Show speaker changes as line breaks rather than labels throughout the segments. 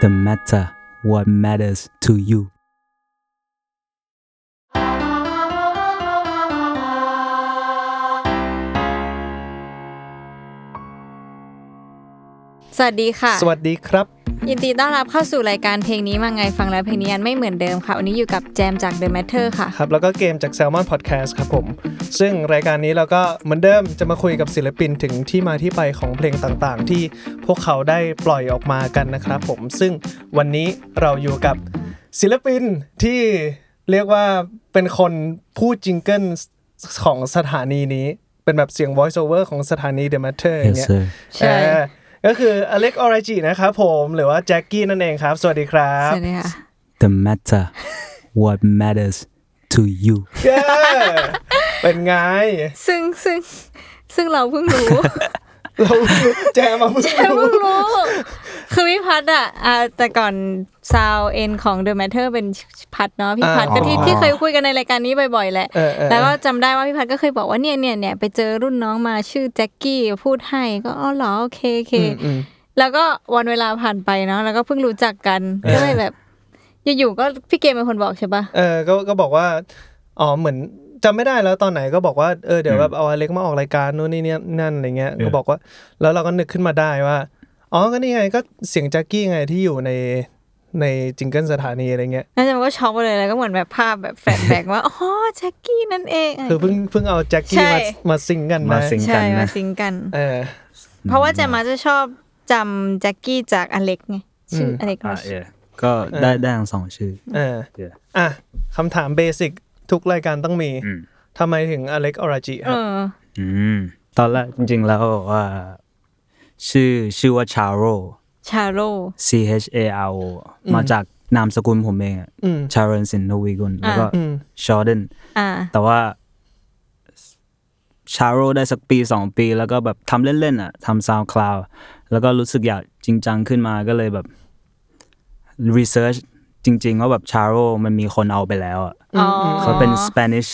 The matter what matters to you
สวัสดีค่ะ
สวัสดีครับ
ยินดีต้อนรับเข้าสู่รายการเพลงนี้มาไงฟังแล้วเพลงนี้ไม่เหมือนเดิมค่ะวันนี้อยู่กับแจมจาก The Matter ค่ะ
ครับแล้วก็เกมจาก Salmon Podcast ครับผมซึ่งรายการนี้เราก็เหมือนเดิมจะมาคุยกับศิลปินถึงที่มาที่ไปของเพลงต่างๆที่พวกเขาได้ปล่อยออกมากันนะครับผมซึ่งวันนี้เราอยู่กับศิลปินที่เรียกว่าเป็นคนพูดจิงเกิลของสถานีนี้เป็นแบบเสียง voice over ของสถานี The Matter อย่างเงี้ย
ใช่
ก็คืออเล็กออราจินะครับผมหรือว่าแจ็คกี้นั่นเองครับสวัสดีครับ
สวัสดีค่ะ
The matter what matters to you
เป็นไง
ซึ่งเราเพิ่งรู้
เราแจมมาเพิ่งรู้
คือพี่พัดแต่ก่อนซาวเอ็นของ The Matter เป็นพัดเนาะพี่พัดก็ที่เคยคุยกันในรายการนี้บ่อยๆแหละแล้วก็จำได้ว่าพี่พัดก็เคยบอกว่าเนี่ยไปเจอรุ่นน้องมาชื่อแจ็คกี้พูดให้ก็อ๋อเหรอโอเคแล้วก็วันเวลาผ่านไปเนาะแล้วก็เพิ่งรู้จักกันก็เลยแบบอยู่ๆก็พี่เกมเป็นคนบอกใช่ปะ
ก็บอกว่าอ๋อเหมือนจำไม่ได้แล้วตอนไหนก็บอกว่าเดี๋ยวแบบเอาอเล็กมาออกรายการนู่นนี่นั่นอะไรเงี้ยก็บอกว่าแล้วเราก็นึกขึ้นมาได้ว่าอ๋อก็นี่ไงก็เสียงแจ็คกี้ไงที่อยู่ในจิงเกิลสถานีอะไรเงี้ย
แล้วจะมันก็ช็อกไปเลยแล้วก็เหมือนแบบภาพแบบแฟลชแบ็กว่าอ๋อแจ็คกี้นั่นเอง
คือเพิ่งเอาแจ็คกี้มาซิงกันนะ
ใช่มาซิงกันเพราะว่าจะมาจะชอบจำแจ็คกี้จากอเล็กไงชื่ออเล็ก
ก็ได้ทั้งสองชื่อ
คำถามเบสิกทุกรายการต้องมีทำไมถึงอเล็กออราจิครับ
ตอนแรกจริงๆแล้วว่าชื่อว่าชาโรCHARO มาจากนามสกุลผมเองชาเรนสินทวีกุลแล้วก็ชอร์แดนแต่ว่าชาโรได้สักปี2ปีแล้วก็แบบทำเล่นๆทำ SoundCloud แล้วก็รู้สึกอยากจริงจังขึ้นมาก็เลยแบบ research จริงๆว่าแบบชาโรมันมีคนเอาไปแล้วเขาเป็น Spanish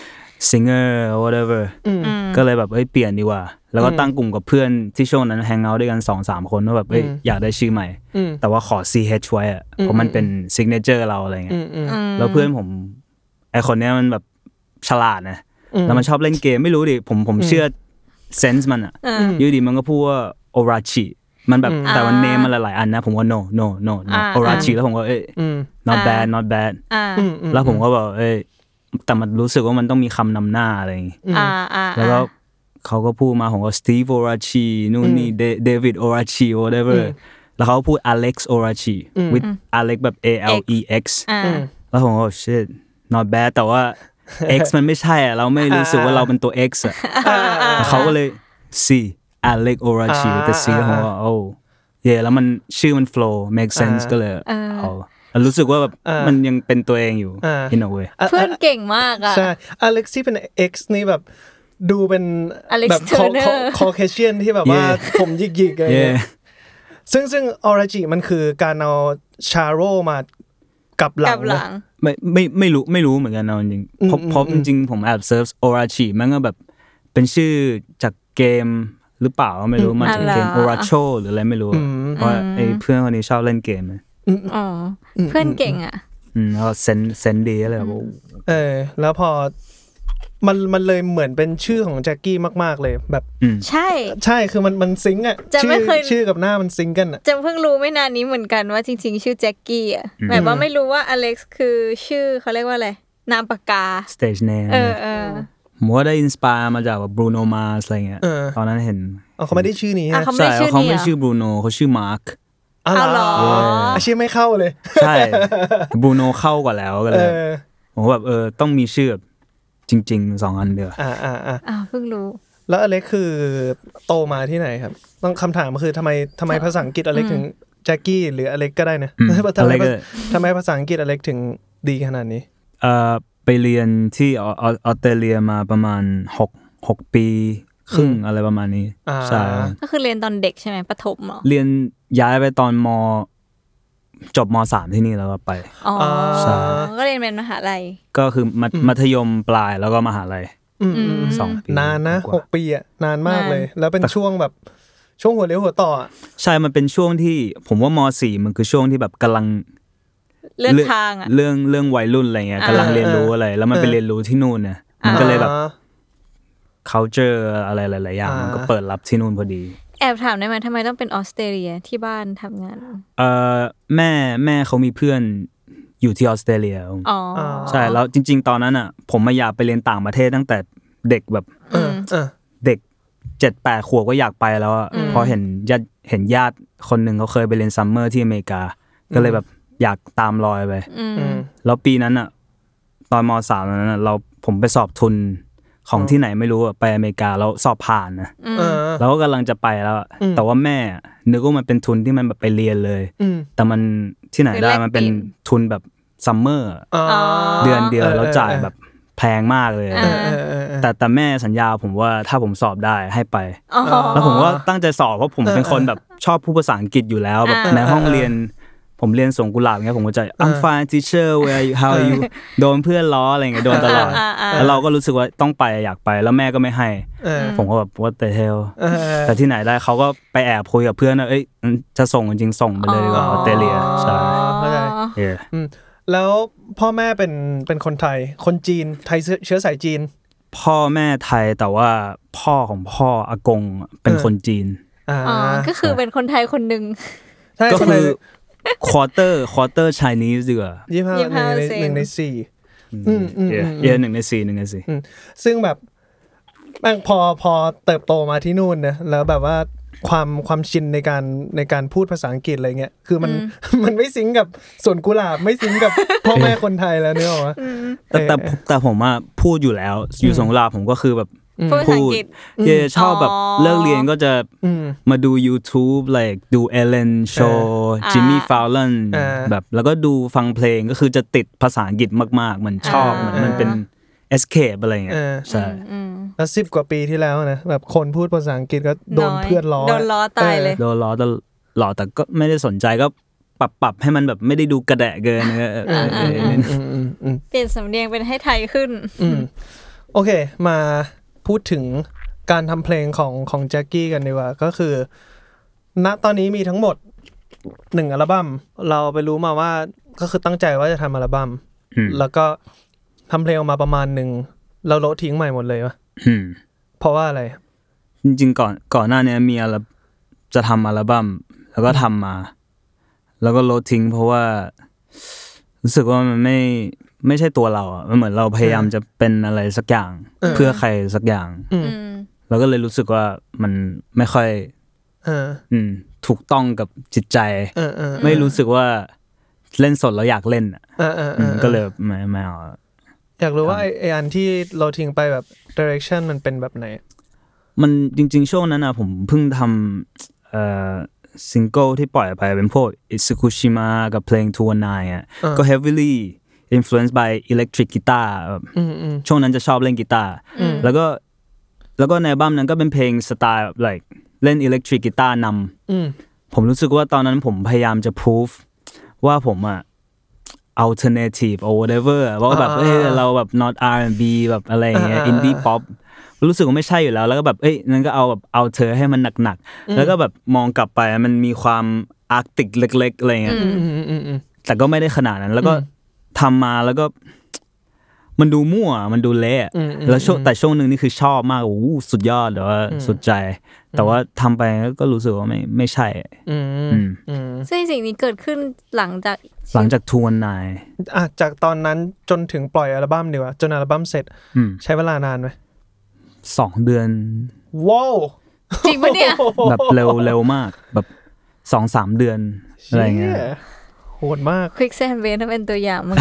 singer whatever ก็เลยแบบเปลี่ยนดีกว่าแล้วก็ตั้งกลุ่มกับเพื่อนที่ช่วงนั้นแฮงเอาท์ด้วยกัน 2-3 คนว่าแบบอยากได้ชื่อใหม่แต่ว่าขอ CH ไว้เพราะมันเป็น signature เราอะไรเงี้ยแล้วเพื่อนผมไอคนเนี้ยมันแบบฉลาดนะแล้วมันชอบเล่นเกมไม่รู้ดิผมเชื่อเซนส์มันอยู่ดีมันก็พูดว่าโอราชิมันแบบแต่มันเนมมันหลายๆอันนะผมว่า no โอราชิแล้วผมก็not bad แล้วผมก็บอกแต่มันรู้สึกว่ามันต้องมีคำนำหน้าอะไรอย่างงี้แล้วก็เขาก็พูดมาผมก็ Steve Orachi นู่นนี่ David Orachi whatever แล้วเขาพูด Alex Orachi with Alex แบบ ALEX แล้วผมก็ shit not bad แต่ว่า X มันไม่ใช่เราไม่รู้สึกว่าเราเป็นตัว X เขาก็เลย C Alex Orachi แต่ C ผมว่าแล้วมันชื่อมัน flow make sense ก็เลยรู้สึกว่าแบบมันยังเป็นตัวเองอยู่ in a way
เพื่อนเก่งมากใ
ช่อเล็กซี่เป็น X นี่แบบดูเป็นแบบคอเคเชียนที่แบบว่าผมหยิกๆอะไรเงี้ยซึ่งออราจิมันคือการเอาชาโรมากับหลัง
ไม่รู้เหมือนกันเอาจริงเพราะจริงๆผมแอบเซิร์ชออราจิมันก็แบบเป็นชื่อจากเกมหรือเปล่าไม่รู้มาจากเกม Oracho หรืออะไรไม่รู้เพราะไอ้เพื่อนคนนี้ชอบเล่นเกม
เพื่อนเก่ง
แล้วเซนดีอะไรแบบ
แล้วพอมันเลยเหมือนเป็นชื่อของแจ็คกี้มากๆเลยแบบ
ใช่
คือมันซิงค์ชื่อกับหน้ามันซิงค์กัน
จะเพิ่งรู้ไม่นานนี้เหมือนกันว่าจริงๆชื่อแจ็คกี้แบบว่าไม่รู้ว่าอเล็กซ์คือชื่อเขาเรียกว่าอะไรนามปากกา
stage name ผมว่าได้อินสปายมาจากแบบบรูโนมาสอะไรเงี้ยตอนนั้นเห็น
เขาไม่ได้ชื่อนี้
เขาไม่
ชื่อบรูโนเขาชื่อมาร์ค
เหรอ
อาชีพไม่เข้าเลย
ใช่บรูโนเข้ากว่าแล้วก็เลยผมแบบต้องมีชื่อแบบจริงๆ2อันเดียว
เพิ่งรู้
แล้วอเล็กคือโตมาที่ไหนครับต้องคำถามคือทำไมภาษาอังกฤษอเล็กถึงแจ็คกี้หรืออเล็กก็ได้นะทำไมภาษาอังกฤษอเล็กถึงดีขนาดนี้
ไปเรียนที่ออสเตรเลียมาประมาณ6ปีครึ่งอะไรประมาณนี้ใช่
ก็คือเรียนตอนเด็กใช่ไหมประถมเหรอ
เรียนย้ายไปตอนจบม.3 ที่นี่แล้วก็ไป
ใช่ก็เรียนเป็นมหาลัย
ก็คือมัธยมปลายแล้วก็มหาลัย2 ปี
นานนะ6 ปีนานมากเลยแล้วเป็นช่วงแบบช่วงหัวเลี้ยวหัวต่อ
ใช่มันเป็นช่วงที่ผมว่าม.4 มันคือช่วงที่แบบกำลัง
เลือกทาง
เรื่องวัยรุ่นอะไรเงี้ยกำลังเรียนรู้อะไรแล้วมันไปเรียนรู้ที่นู่นเนี่ยมันก็เลยแบบ culture อะไรหลายๆอย่างมันก็เปิดรับที่นู่นพอดี
แอบถามได้ไหมทำไมต้องเป็นออสเตรเลียที่บ้านทำงาน
แม่เขามีเพื่อนอยู่ที่ออสเตรเลียใช่แล้วจริงๆตอนนั้นอ่ะผมมาอยากไปเรียนต่างประเทศตั้งแต่เด็กแบบเด็ก 7-8 ขวบก็อยากไปแล้วพอเห็นญาติคนหนึ่งเขาเคยไปเรียนซัมเมอร์ที่อเมริกาก็เลยแบบอยากตามรอยไปแล้วปีนั้นอ่ะตอนม.3 นั้นผมไปสอบทุนของที่ไหนไม่รู้ไปอเมริกาแล้วสอบผ่านนะแล้วก็กำลังจะไปแล้วแต่ว่าแม่นึกว่ามันเป็นทุนที่มันแบบไปเรียนเลยแต่มันที่ไหนได้มันเป็นทุนแบบซัมเมอร์เดือนเดียวแล้วจ่ายแบบแพงมากเลยแต่แม่สัญญาผมว่าถ้าผมสอบได้ให้ไปแล้วผมก็ตั้งใจสอบเพราะผมเป็นคนแบบชอบพูดภาษาอังกฤษอยู่แล้วแบบในห้องเรียนผมเรียนสวนกุหลาบเงี้ยผมก็จะ I'm fine teacher where how are you โดนเพื่อนล้ออะไรเงี้ยโดนตลอดแล้วเราก็รู้สึกว่าต้องไปอยากไปแล้วแม่ก็ไม่ให้ผมก็แบบ what the hell แต่ที่ไหนได้เขาก็ไปแอบคุยกับเพื่อนว่าเอ้ยจะส่งจริงส่งไปเลยดีกว่าออสเตรเลียใช่
แล้วพ่อแม่เป็นคนไทยคนจีนไทยเชื้อสายจีน
พ่อแม่ไทยแต่ว่าพ่อของพ่ออากงเป็นคนจีน
ก็คือเป็นคนไทยคนนึง
ก็คือ quarter Chinese ดีกว่า
1 ใน 4
1 ใน 4
ซึ่งแบบแม่งพอเติบโตมาที่นู่นนะแล้วแบบว่าความชินในการพูดภาษาอังกฤษอะไรเงี้ยคือมันไม่ซิงกับสวนกุหลาบไม่ซิงกับพ่อแม่คนไทยแล้วเนี่ยหรอ
แต่ผมอ่ะพูดอยู่แล้วอยู่สวนกุหลาบผมก็คือแบบ
พูด
ชอบแบบเลิกเรียนก็จะมาดู YouTube like ดู Ellen Show Jimmy Fallon แบบแล้วก็ดูฟังเพลงก็คือจะติดภาษาอังกฤษมากๆมันชอบมันเป็น escape อะไรเงี้ยใช่
แล้ว10 กว่าปีที่แล้วนะแบบคนพูดภาษาอังกฤษก็โดนเพื่อนล้อ
โดนล้อตายเลย
โดนล้อตลอดแต่ก็ไม่ได้สนใจก็ปรับให้มันแบบไม่ได้ดูกระแดะเกิน
เปลี่ยนสำเนียงเป็นให้ไทยขึ้น
โอเคมาพูดถึงการทำเพลงของแจ็คกี้กันดีกว่าก็คือณตอนนี้มีทั้งหมด1อัลบั้มเราไปรู้มาว่าก็คือตั้งใจว่าจะทำอัลบั้มแล้วก็ทำเพลงออกมาประมาณนึงเราโละทิ้งใหม่หมดเลยวะเพราะว่าอะไร
จริงๆก่อนหน้านี้มีจะทำอัลบั้มแล้วก็ทำมาแล้วก็โละทิ้งเพราะว่ารู้สึกว่ามันไม่ใช่ตัวเราอ่ะมันเหมือนเราพยายามจะเป็นอะไรสักอย่างเพื่อใครสักอย่างแล้วก็เลยรู้สึกว่ามันไม่ค่อยถูกต้องกับจิตใจไม่รู้สึกว่าเล่นสดแล้วอยากเล่นก็เลยไม่เอา
อยากรู้ว่าไอ้อันที่เราทิ้งไปแบบ direction มันเป็นแบบไหน
มันจริงๆช่วงนั้นนะผมเพิ่งทำซิงเกิลที่ปล่อยไปเป็นพวก Itsukushima กับเพลง219อ่ะก็ heavily influenced by electric guitar ช่วงนั้นจะชอบเล่นกีตาร์แล้วก็ในอัลบั้มนั้นก็เป็นเพลงสไตล์ like เล่น electric guitar นำผมรู้สึกว่าตอนนั้นผมพยายามจะ proof ว่าผมอ่ะalternative or whatever ว่าแบบเราแบบ not R&B แบบอะไรอย่างเงี้ย indie pop รู้สึกว่าไม่ใช่อยู่แล้วก็แบบนั่นก็เอาแบบเอาเธอให้มันหนักๆแล้วก็แบบมองกลับไปมันมีความอาร์กติกเล็กๆอะไรเงี้ยแต่ก็ไม่ได้ขนาดนั้นแล้วก็ทำมาแล้วก็มันดูมั่วมันดูเละแล้วแต่ช่วงนึงนี่คือชอบมากโอ้สุดยอดแต่ว่าสุดใจแต่ว่าทำไปก็รู้สึกว่าไม่ใช่
ซึ่งสิ่งนี้เกิดขึ้นหลังจาก
ทวนนาย
จากตอนนั้นจนถึงปล่อยอัลบั้มดีกว่าจนอัลบั้มเสร็จใช้เวลานานไหม
2 เดือน
ว้าว
จริงปะเนี่ย
แบบเร็วมากแบบ 2-3 เดือนอะไรเงี้ย
โหดมาก
Quick Sandwich นั่นเป็นตัวอย่างมั้ง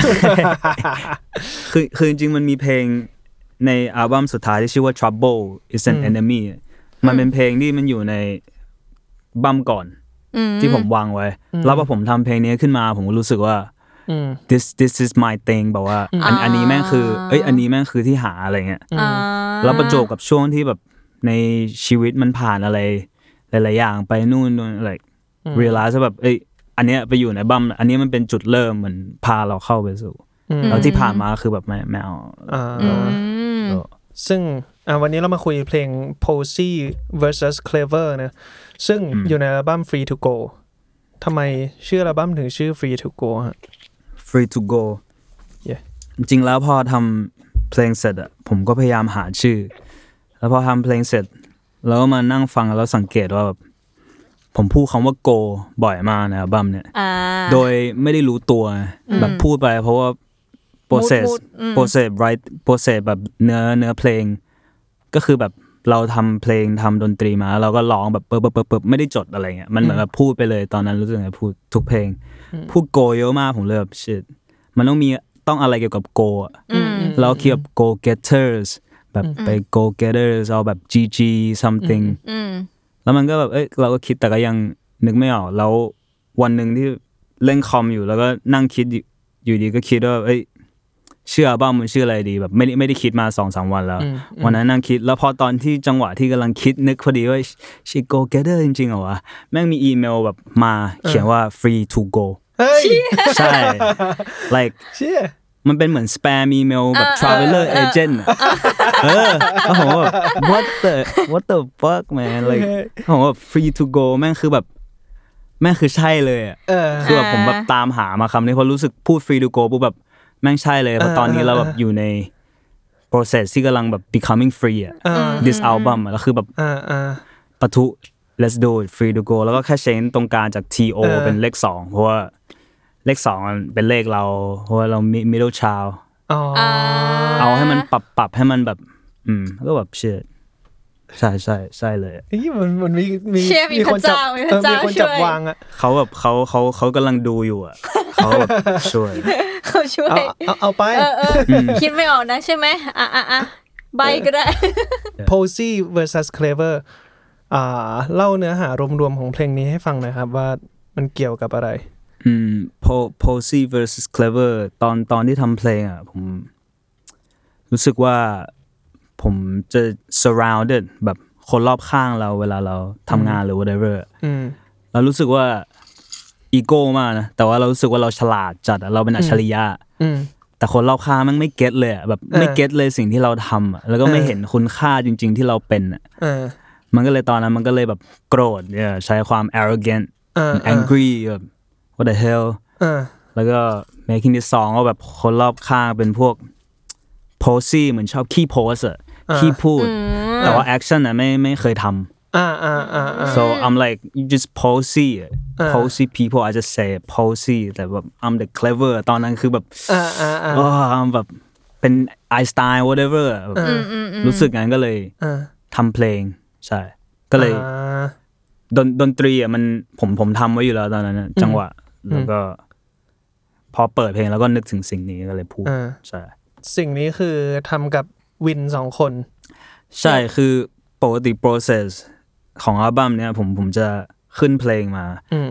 คือจริงๆมันมีเพลงในอัลบั้มสุดท้ายที่ชื่อว่า Trouble is an Enemy มันเป็นเพลงที่มันอยู่ในบั้มก่อนที่ผมวางไว้แล้วพอผมทำเพลงนี้ขึ้นมาผมก็รู้สึกว่าthis is my thing แบบว่าอันนี้แม่งคืออันนี้แม่งคือที่หาอะไรเงี้ยแล้วประจวบกับช่วงที่แบบในชีวิตมันผ่านอะไรหลายๆอย่างไปนู่นอะไร realize แบบอันเนี้ยไปอยู่ในบั้มอันนี้มันเป็นจุดเริ่มเหมือนพาเราเข้าไปสู่แล้วที่ผ่านมาคือแบบไม่เอา
ซึ่งวันนี้เรามาคุยเพลง Posey vs Clever นะซึ่งอยู่ในอัลบั้ม Free to Go ทำไมชื่ออัลบั้มถึงชื่อ Free to Go ฮะ
Free to Go
yeah
จริงๆแล้วพอทำเพลงเสร็จอะผมก็พยายามหาชื่อแล้วพอทำเพลงเสร็จแล้วก็มานั่งฟังแล้วสังเกตว่าแบบผมพูดคำว่า go บ่อยมากในอัลบั้มเนี่ยโดยไม่ได้รู้ตัวแบบพูดไปเพราะว่า process แบบเนื้อเพลงก็คือแบบเราทำเพลงทำดนตรีมาเราก็ร้องแบบเปิบไม่ได้จดอะไรเงี้ยมันเหมือนแบบพูดไปเลยตอนนั้นรู้สึกไงพูดทุกเพลงพูด go เยอะมากผมเลยแบบ shit มันต้องอะไรเกี่ยวกับ go อ่ะแล้วคิดแบบ go getters แบบไป go getters เอาแบบ GG something แล้วมันก็แบบเราก็คิดแต่ก็ยังนึกไม่ออกแล้ววันนึงที่เล่นคอมอยู่แล้วก็นั่งคิดอยู่ดีก็คิดว่าชื่ออัลบั้มมันชื่ออะไรดีแบบไม่ได้คิดมา 2-3 วันแล้ววันนั้นนั่งคิดแล้วพอตอนที่จังหวะที่กำลังคิดนึกพอดีว่า she go getter จริงๆเหรอวะแม่งมีอีเมลแบบมาเขียนว่า free to go ใช่ like มันเป็นเหมือนสแปมอีเมลแบบ traveler agent แล้วผมว่า what the fuck man like ผมว่า free to go แม่งคือแบบแม่งคือใช่เลยอ่ะคือแบบผมแบบตามหามาคำนี้เพราะรู้สึกพูด free to go ปุ๊บแบบแม่งใช่เลยเพราะตอนนี้เราแบบอยู่ใน process ที่กำลังแบบ becoming free อ่ะ this album อ่ะแล้วคือแบบปะทุ let's do it free to go แล้วก็แค่เชนตรงกลางจาก TO เป็นเลข2เพราะว่าเลข2มันเป็นเลขเราเพราะว่าเรา middle child เอาให้มันปรับให้มันแบบก็แบบเชื่อใช่เลย
มันมีคนจับวางอ่ะ
เขาแบบเขากำลังดูอยู่อ่ะเขาแบบช่วย
เอาไป
คิดไม่ออกนะใช่ไหมใบก็ได้
Posey vs Clever เล่าเนื้อหารวมๆของเพลงนี้ให้ฟังหน่อยครับว่ามันเกี่ยวกับอะไร
Posey vs Clever ตอนที่ทำเพลงอ่ะผมรู้สึกว่าผมจะ surrounded แบบคนรอบข้างเราเวลาเราทำงานหรือ whatever เรารู้สึกว่าอีโก้มากนะแต่ว่าเรารู้สึกว่าเราฉลาดจัดเราเป็นอัจฉริยะแต่คนรอบข้างมันไม่เก็ตเลยแบบไม่เก็ตเลยสิ่งที่เราทำแล้วก็ไม่เห็นคุณค่าจริงๆที่เราเป็นมันก็เลยตอนนั้นมันก็เลยแบบโกรธใช้ความ arrogant angry แบบ what the hell แล้วก็ making this song ว่าแบบคนรอบข้างเป็นพวกPosey เหมือนชอบขี้โพสอะขี้พูดแต่ว่า action อะไม่เคยทำso I'm like you just Posey people I just say Posey แต่แบบ I'm the clever ตอนนั้นคือแบบI'm แบบเป็น Einstein whatever รู้สึกงั้นก็เลยทำเพลงใช่ก็เลยดนตรีอะมันผมทำไว้อยู่แล้วตอนนั้นจังหวะแล้วก็พอเปิดเพลงแล้วก็นึกถึงสิ่งนี้ก็เลยพูดใช่
สิ่งนี้คือทำกับวิน2 คน
ใช่คือปกติ process ของอัลบั้มเนี้ยผมจะขึ้นเพลงมา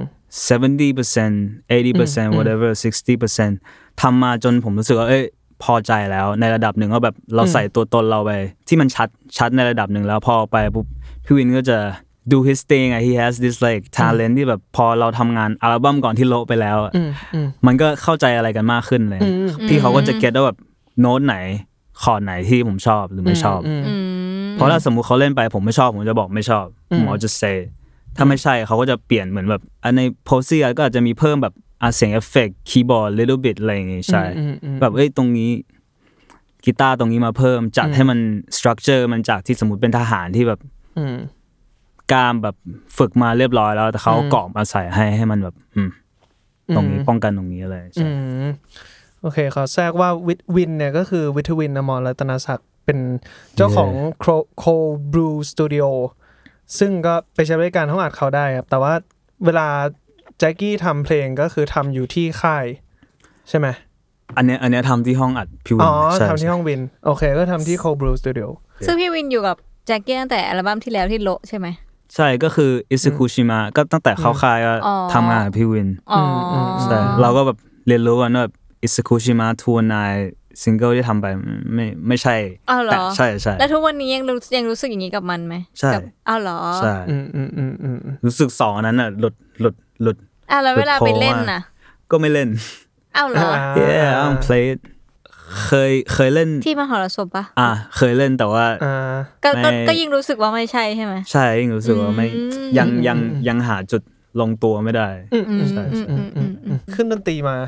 70% 80% whatever 60% ทำมาจนผมรู้สึกว่าพอใจแล้วในระดับหนึ่งว่าแบบเราใส่ตัวตนเราไปที่มันชัดในระดับหนึ่งแล้วพอไปปุ๊บพี่วินก็จะdo his thing he has this like talent ที่แบบพอเราทำงานอัลบั้มก่อนที่โละไปแล้วมันก็เข้าใจอะไรกันมากขึ้นเลยพี่เขาก็จะเก็ตว่าแบบโน้ตไหนคอร์ดไหนที่ผมชอบหรือไม่ชอบเพราะถ้าสมมุติเขาเล่นไปผมไม่ชอบผมจะบอกไม่ชอบผมจะ say ถ้าไม่ใช่เขาก็จะเปลี่ยนเหมือนแบบใน Posey ก็อาจจะมีเพิ่มแบบเสียงเอฟเฟกต์คีย์บอร์ด little bit อะไรอย่างงี้ใช่แบบตรงนี้กีตาร์ตรงนี้มาเพิ่มจัดให้มัน structure มันจากที่สมมุติเป็นทหารที่แบบกล้ามแบบฝึกมาเรียบร้อยแล้วแต่เขาเกาะมาใส่ให้มันแบบตรงนี้ป้องกันตรงนี้อะไรใช่
โอเคขอแทรกว่าวินเนี่ยก็คือวิทวินอมรรัตนศักดิ์เป็นเจ้าของ Cold Brew Studio ซึ่งก็ไปใช้บริการห้องอัดเขาได้ครับแต่ว่าเวลาแจ็คกี้ทำเพลงก็คือทำอยู่ที่ค่ายใช่ไหม
อันเนี้ยทำที่ห้องอัดพี่วิน
ทำที่ห้องวินโอเคก็ทำที่ Cold Brew Studio
ซึ่งพี่วินอยู่กับแจ็คกี้ตั้งแต่อัลบั้มที่แล้วที่โละใช่ไหม
ใช่ก็คืออิซึคุชิมะก็ตั้งแต่เข้าค่ายก็ทำงานกับพี่วินใช่เราก็แบบเรียนรู้กันว่าอิซึคุชิมะ219ซิงเกิลที่ทำไปไม่ใช่
แต่
ใช่
แล้วทุกวันนี้ยังรู้สึกอย่างนี้กับมันไหม
ใช่
เหรอ
ใช่รู้สึก2อันนั้นน่ะหลุด
แล้วเวลาไปเล่นน่ะ
ก็ไม่เล่น
เหรอ
yeah I don't play it เคยเล่น
ที่มหรสพปะ
เคยเล่นแต่ว่า
ก็ยิ่งรู้สึกว่าไม่ใช่ใช่ไหม
ใช่ยิ่งรู้สึกว่าไม่ยังหาจุดลงตัวไม่ได้ใช่
ขึ้นดนตรีมา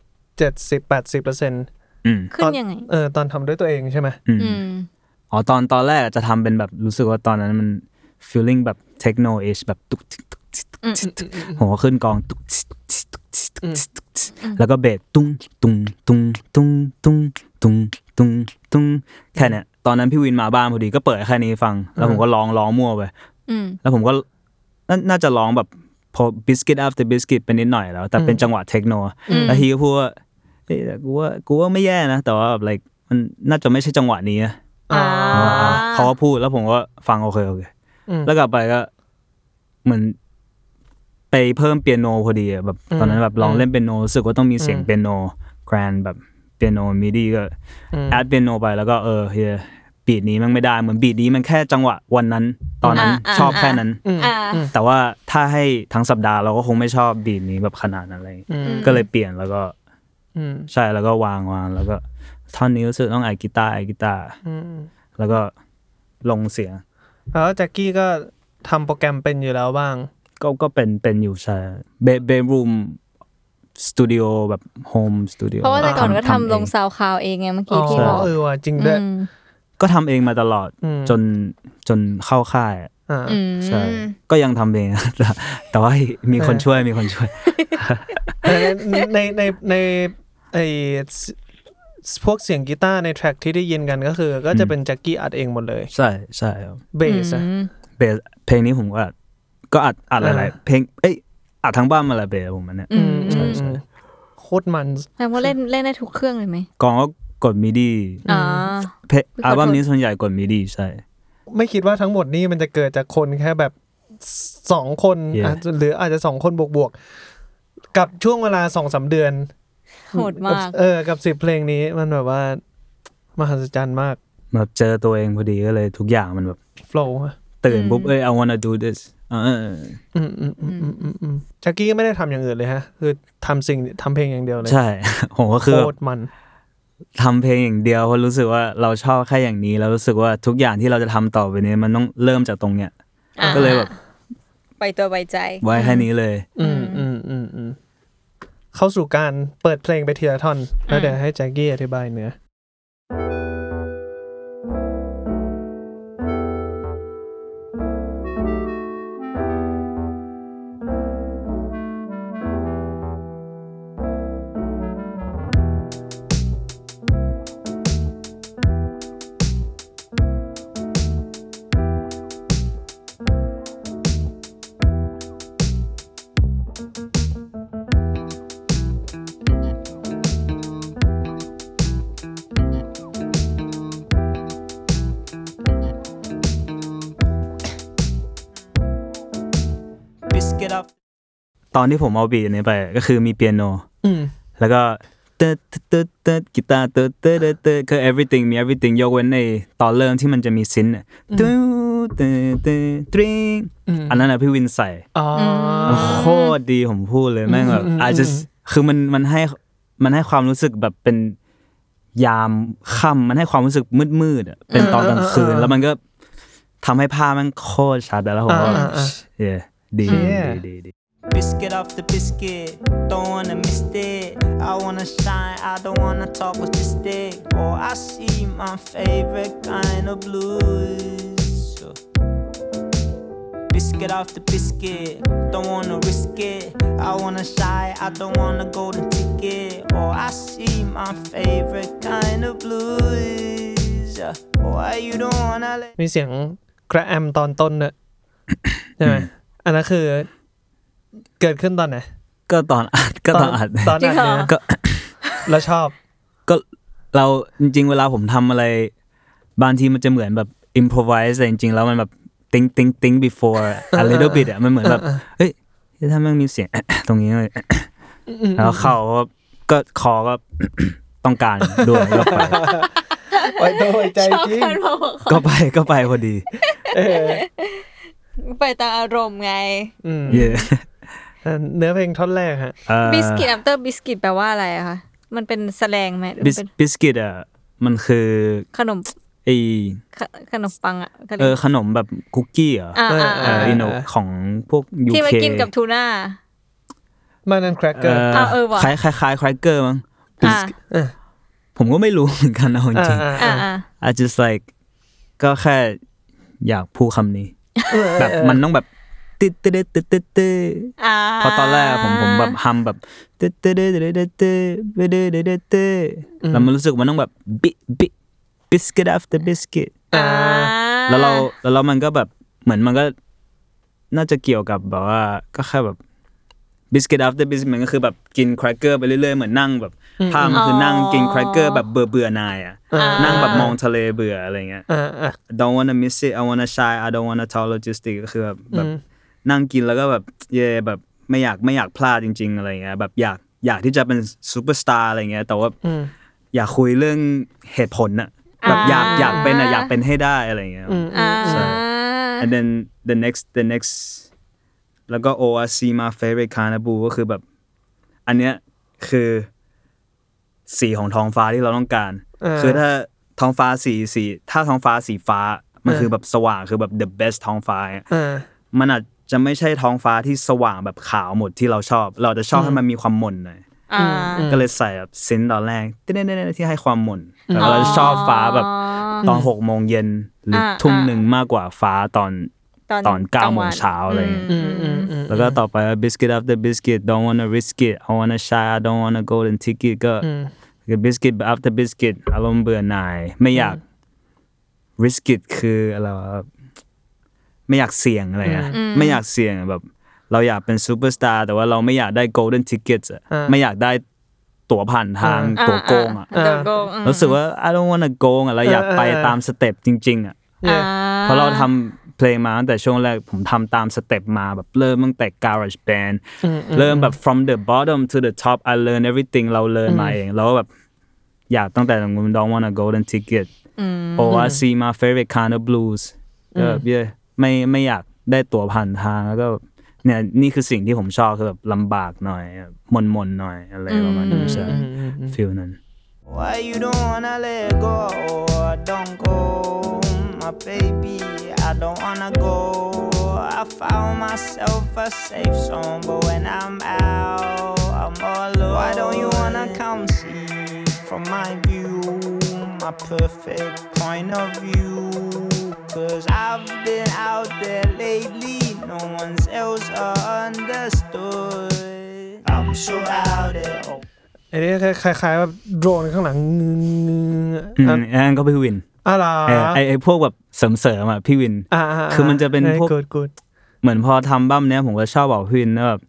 70-80%
ขึ้นยังไง
ตอนทำด้วยตัวเองใช่ไหม
ตอนแรกจะทำเป็นแบบรู้สึกว่าตอนนั้นมัน feeling แบบ techno-ish แบบตุ๊กผมก็ขึ้นกองตุ๊กแล้วก็เบสตุ้งตุ้งตุ้งตุ้งตุ้งตุ้งตุ้งตุ้งแค่เนี้ยตอนนั้นพี่วินมาบ้านพอดีก็เปิดแค่นี้ฟังแล้วผมก็ร้องมั่วไปแล้วผมก็น่าจะร้องแบบพอ biscuit after biscuit เป็นนิดหน่อยแล้วแต่เป็นจังหวะเทคโนแล้วทีก็พูดว่าเฮ้ยกูว่าไม่แย่นะแต่ว่าแบบ like มันน่าจะไม่ใช่จังหวะนี้เขาก็พูดแล้วผมก็ฟังโอเคแล้วกลับไปก็เหมือนไปเพิ่มเปียโนพอดีแบบตอนนั้นแบบลองเล่นเปียโนรู้สึกว่าต้องมีเสียงเปียโนแกรนด์แบบเปียโนมิดีก็แอดเปียโนไปแล้วก็เฮียบีทนี้มันไม่ได้เหมือนบีทนี้มันแค่จังหวะวันนั้นตอนนั้นชอบแค่นั้นแต่ว่าถ้าให้ทั้งสัปดาห์เราก็คงไม่ชอบบีทนี้แบบขนาดนั้นอะไรก็เลยเปลี่ยนแล้วก็ใช่แล้วก็วางแล้วก็ท่อนนี้รู้สึกต้องไอกีตาร์แล้วก็ลงเสียง
แล้วแจ็คกี้ก็ทำโปรแกรมเป็นอยู่แล้วบ้าง
ก็เป็นอยู่ใช่เบดรูมสตูดิโอแบบโฮมสตูดิโอ
เพราะว่าแต่ก่อนก็ทำลงซาวคลาวเองไงเมื่อกี้ที่บอก
ว่ะจริงด้วย
ก็ทำเองมาตลอดจนเข้าค่ายใช่ก็ยังทำเองแต่ว่ามีคนช่วยใน
ไอพวกเสียงกีตาร์ในแทร็กที่ได้ยินกันก็จะเป็นแจ็คกี้อัดเองหมดเลย
ใช่
เบส
เพลงนี้ผมก็อัดหลายเพลงอัดทั้งบ้านมาละเบสผมมันเนี่ยใช่
โคตรมัน
แปลว่าเล่นได้ทุกเครื่องเลยไหม
กองก็กดมิดีอัลบั้มนี้ส่วนใหญ่กดมิดีใช่
ไม่คิดว่าทั้งหมดนี้มันจะเกิดจากคนแค่แบบ2คนหรืออาจจะ2คนบวกกับช่วงเวลา 2-3 เดือน
โหดมาก
กับ10เพลงนี้มันแบบว่ามหัศจรรย์มาก
แบบเจอตัวเองพอดีก็เลยทุกอย่างมันแบบ
โฟลว์
ตื่นปุ๊บI wanna do this
แจ็คกี้ก็ไม่ได้ทำอย่างอื่นเลยฮะคือทำเพลงอย่างเดียวเลย
ใช่ผมก็คือ
โคตรมัน
ทำเพลงอย่างเดียวเพราะรู้สึกว่าเราชอบแค่อย่างนี้แล้วรู้สึกว่าทุกอย่างที่เราจะทำต่อไปนี้มันต้องเริ่มจากตรงเนี้ยก็เลยแบบ
ไปตัวไปใจ
ไว้แค่นี้เลย
เข้าสู่การเปิดเพลงไปทีละท่อนแล้วเดี๋ยวให้แจ็คกี้อธิบายเนื้อ
ตอนที่ผมเอาบีทนี้ไปก็คือมีเปียโนแล้วก็เตกีตาร์คือ everything มี everything ยกเว้นในตอนเริ่มที่มันจะมีซินอันนั้นนะพี่วินใส่โคตรดีผมพูดเลยแม่งแบบคือมันให้ความรู้สึกแบบเป็นยามค่ำมันให้ความรู้สึกมืดๆเป็นตอนกลางคืนแล้วมันก็ทำให้ภาพมันโคตรชัดแล้วผมว่าดี
Biscuit off the biscuit, don't wanna miss it. I wanna shine, I don't wanna talk with the stick. Oh, I see my favorite kind of blues. Biscuit off the biscuit, don't wanna risk it. I wanna shine, I don't wanna golden ticket. Oh, I see my favorite kind of blues. Why you don't wanna let
มีเสียงกระแอมตอนต้นเนี่ยใช่ไหมอันนั้นคือเกิดขึ้นตอนไหน
ก็ตอนอัดเนี่ยก็
แล้วชอบ
ก็เราจริงๆเวลาผมทำอะไรบางทีมันจะเหมือนแบบ improvise แต่จริงๆแล้วมันแบบ think before a little bit มันเหมือนแบบเฮ้ยถ้ามันมีเสียงตรงนี้เลยแล้วเข้าก็คอก็ต้องการด้วยก็
ไปตัวใจจริง
ก็ไปพอดี
ไปตามอารมณ์ไง
เนื้อเพลงท่อนแรกฮะ
biscuit after biscuit แปลว่าอะไรอะคะมันเป็นแสลงไหม
บิสกิตอ่ะมันคือ
ขนม
ไอ
ขนมปังอ่ะ
ขนมแบบคุกกี้เหรอของพวก UK
ที่มากินกับทูน่า
มันนั่นแครกเกอร์
คล้ายแครกเกอร์มั้งผมก็ไม่รู้เหมือนกันเอาจริงI just like ก็แค่อยากพูดคำนี้แบบมันต้องแบบตึ๊ดตึ๊ดตึ๊ดตึ๊ดตึ๊ดเพราะตอนแรกผมแบบฮัมแบบตึ๊ดตึ๊ดตึ๊ดตึ๊ดตึ๊ดตึ๊ดตึ๊ดแล้วมันรู้สึกมันต้องแบบbiscuit after biscuit แล้วมันก็แบบเหมือนมันก็น่าจะเกี่ยวกับแบบว่าก็แค่แบบ biscuit after biscuit มันก็คือแบบกินแครกเกอร์ไปเรื่อยๆเหมือนนั่งแบบภาพมันคือนั่งกินแครกเกอร์แบบเบื่อหน่ายอ่ะนั่งแบบมองทะเลเบื่ออะไรเงี้ย don't wanna miss it I wanna shy I don't wanna talk logistics ก็คือแบบนั่งกินแล้วก็แบบแบบไม่อยากพลาดจริงๆอะไรเงี้ยแบบอยากที่จะเป็นซูเปอร์สตาร์อะไรเงี้ยแต่ว่าอยากคุยเรื่องเหตุผลน่ะแบบอยากเป็นให้ได้อะไรเงี้ยand then the next แล้วก็ I see my favorite kind of blue ก็คือแบบอันเนี้ยคือสีของท้องฟ้าที่เราต้องการคือถ้าท้องฟ้าถ้าท้องฟ้าสีฟ้ามันคือแบบสว่างคือแบบ the best ท้องฟ้ามันอาจจะไม่ใช่ท้องฟ้าที่สว่างแบบขาวหมดที่เราชอบเราจะชอบให้มันมีความหม่นหน่อยก็เลยใส่แบบเซนต์ตอนแรกที่ให้ความหม่นแต่เราชอบฟ้าแบบตอน 6 โมงเย็นหรือทุ่มนึงมากกว่าฟ้าตอน 9 โมงเช้าอะไรอย่างเงี้ยแล้วก็ต่อไป biscuit after biscuit don't wanna risk it I wanna shy I don't wanna golden ticket ก็biscuit after biscuit อารมณ์เบื่อหน่ายไม่อยาก risk it คืออะไรวะไม่อยากเสี่ยงอะไรอ่ะไม่อยากเสี่ยงแบบเราอยากเป็นซูเปอร์สตาร์แต่ว่าเราไม่อยากได้ golden tickets อ่ะไม่อยากได้ตั๋วผ่านทางตั๋วโกงอ่ะรู้สึกว่า I don't wanna go อ่ะเราอยากไปตามสเต็ปจริงๆอ่ะเพราะเราทำเพลงมาตั้งแต่ช่วงแรกผมทำตามสเต็ปมาแบบเริ่มตั้งแต่ garage band เริ่มแบบ from the bottom to the top I learn everything เราเรียนมาเองแล้วแบบอยากตั้งแต่don't wanna golden ticket I see my favorite kind of blues ไม่อยากได้ตั๋วผ่านทางแล้วก็เนี่ยนี่คือสิ่งที่ผมชอบคือแบบลำบากหน่อยมนหน่อยอะไรประมาณนั้นใช่ฟีลนั้น
Why you don't wanna let go or don't go my baby I don't wanna go I found myself a safe zone but when I'm out I'm all alone Why don't you wanna come see from my view my perfect point of view Cause I've been out there lately no one's else understood I'm so out there
อันนี้คล้ายๆแบบโดรนข้างหลัง
อันก็พี่วินไอ้พวกแบบเสริมอ่ะพี่วินคือมันจะเป็นพวกเหมือนพอทำบั้มเนี้ยผมก็ชอบบอกพี่วินว่าแบบ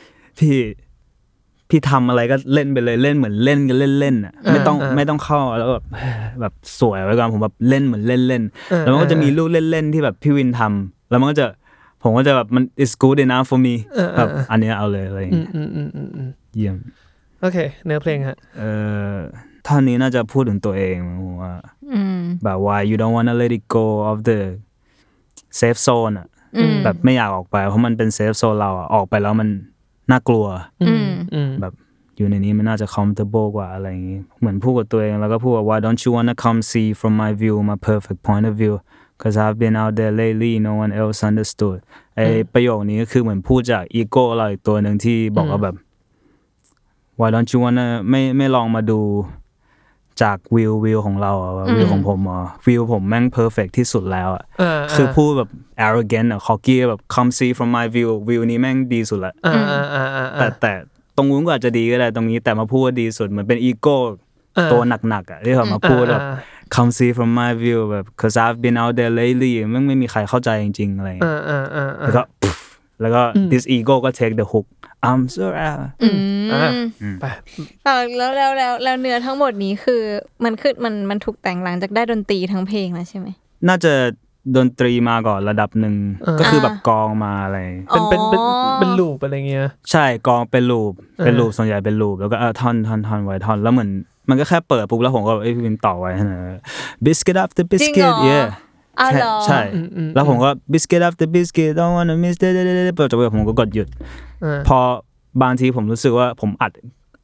พี่ทำอะไรก็เล่นไปเลยเล่นเหมือนเล่นกันเล่นๆอ่ะไม่ต้องเข้าแล้วแบบสวยไว้ก่อนผมแบบเล่นเหมือนเล่นๆแล้วมันก็จะมีลูกเล่นๆที่แบบพี่วินทำแล้วมันก็จะผมก็จะแบบมัน is good enough for me แบบอันนี้เอาเลยอะไรอย่างเงี้ยเยี่ยม
โอเคเนื้อเพลงฮะ
ท่อนนี้น่าจะพูดถึงตัวเองผมว่าแบบ why you don't wanna let it go of the safe zone อ่ะแบบไม่อยากออกไปเพราะมันเป็น safe zone เราอ่ะออกไปแล้วมันน่ากลัวแบบอยู่ในนี้มันน่าจะ comfortable กว่าอะไรอย่างงี้เหมือนพูดกับตัวเองแล้วก็พูดว่า why don't you wanna come see from my view my perfect point of view cause I've been out there lately no one else understood ไอประโยคนี้ก็คือเหมือนพูดจากอีโก้เราอีกตัวนึงที่บอกว่าแบบ why don't you wanna ไม่ลองมาดูจากวิวของเราอ่ะวิวของผมอ่ะวิวผมแม่ง perfect ที่สุดแล้วอ่ะคือพูดแบบ arrogant อ่ะ cocky แบบ come see from my view วิวนี้แม่งดีสุดละแต่ตรงนู้นก็อาจจะดีก็ได้ตรงนี้แต่มาพูดว่าดีสุดเหมือนเป็นอีโก้ตัวหนักๆอ่ะที่เขามาพูดแบบ come see from my view แบบ cause I've been out there lately มันไม่มีใครเข้าใจจริงๆอะไรแล้วก็ this ego ก็ take the hook I'm so out
ไป
แล้วเนื้อทั้งหมดนี้คือมันถูกแต่งหลังจากได้ดนตรีทั้งเพลงแล้วใช่ไหม
น่าจะดนตรีมาก่อนระดับหนึ่งก็คือแบบกองมาอะไร
เป็นลูปอะไรเงี้ย
ใช่กองเป็นลูปส่วนใหญ่เป็นลูปแล้วก็ท่อนไว้ท่อนแล้วเหมือนมันก็แค่เปิดปุ๊บแล้วผมก็พี่วินต่อไว้นะ biscuit after biscuit yeah ใช่แล้วผมก็ biscuit after biscuit don't wanna miss เปิดจบผมก็กดหยุดพอบางทีผมรู้สึกว่าผม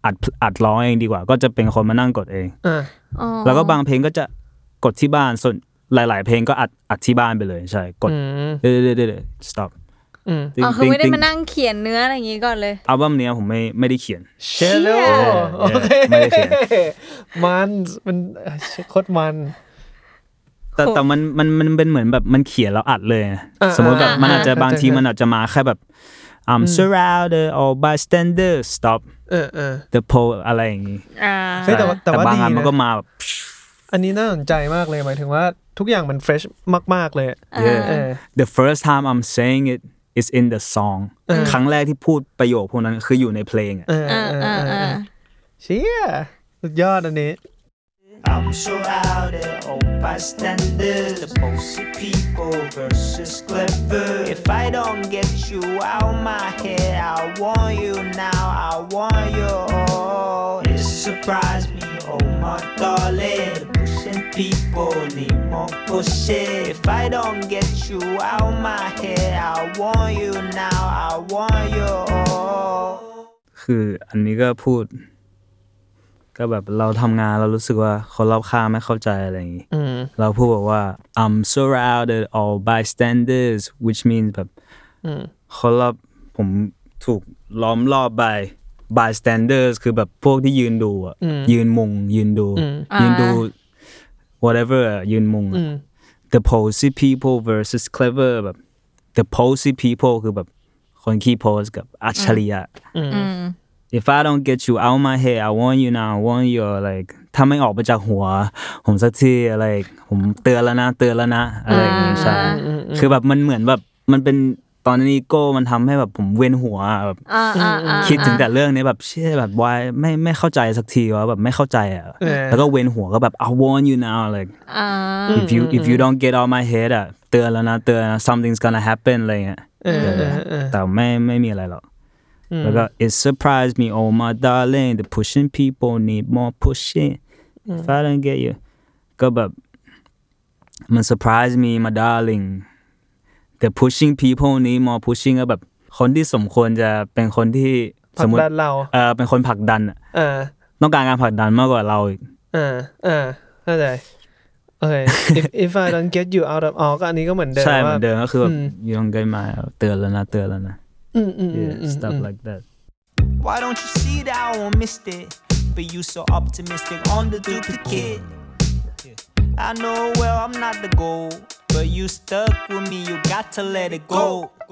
อัดร้องเองดีกว่าก็จะเป็นคนมานั่งกดเอง
อ๋อ
แล้วก็บางเพลงก็จะกดที่บ้านส่วนหลายๆเพลงก็อัดที่บ้านไปเลยใช่กดเดี๋ยว stop
อ๋อคือไม่ได้มานั่งเขียนเนื้ออะไรอย่างงี้ก่อนเลย
อัลบั้มเนี้ยผมไม่ได้เขียน
เชลโลโอเค
ไม่ได้เขียน
มันโคตรมัน
แต่มันเป็นเหมือนแบบมันเขียนแล้วอัดเลยสมมติแบบมันอาจจะบางทีมันอาจจะมาแค่แบบI'm surrounded all bystanders stop the pole อะไรอย่างงี้
แต่ว่า
บางอัน
ดี
มันก็มาแบบ
อันนี้น่าสนใจมากเลยหมายถึงว่าทุกอย่างมันเฟรชมากๆเลย
The first time I'm saying it is in the song ครั้งแรกที่พูดประโยคพวกนั้นคืออยู่ในเพลง
เชี่ยสุดยอดอันนี้
I'm surrounded all bystanders, the bullshit people versus clever. If I don't get you out my head, I want you now, I want you all. It surprised me, oh my darling. The pushing people need more pushing. If I don't get you out my head, I want you now, I want you all.
คืออันนี้ก็พูดก็แบบเราทำงานเรารู้สึกว่าคนรอบข้างไม่เข้าใจอะไรอย่างงี้เราพูดบอกว่า I'm surrounded all bystanders which means แบบคนรอบผมถูกล้อมรอบ bystanders คือแบบพวกที่ยืนดูอ่ะยืนมุงยืนดูwhatever ยืนมุง the posy people versus clever แบบ the posy people คือแบบคนขี้โพสกับอัจฉริยะIf I don't get you out my head I want you now I want you like ถ้าไม่ออกไปจากหัวผมสักทีอะไรผมเตือนแล้วนะอะไรอย่างงี้ใช่คือแบบมันเหมือนแบบมันเป็นตอนนี้โก้มันทำให้แบบผมเวียนหัวแบบคิดถึงแต่เรื่องนี้แบบเชื่อแบบวายไม่เข้าใจสักทีว่าแบบไม่เข้าใจอ่ะแล้วก็เวียนหัวก็แบบ I want you now like if you don't get out my head อ่ะเตือนแล้วนะsomething's gonna happen อะไรเงี้ยแต่ไม่มีอะไรหรอกแล้วก็ it surprised me oh my darling the pushing people need more pushing if I don't get you ก็แบบมัน surprise me my darling the pushing people need more pushing ก็แบบคนที่สมควรจะเป็นคนที่สมมติเป็นคนผลักดันต้องการผลักดันมากกว่าเราอีก
เข้าใจโอเค if I don't get you out of ก็อันนี้ก็เหมือนเดิม
ใช่เหมือนเดิมก็คือแบบ you don't get my เตือนแล้วนะstuff like that
Why don't you see that I won't miss it But you so optimistic on the duplicate I know well I'm not the goal But you stuck with me you got to let it go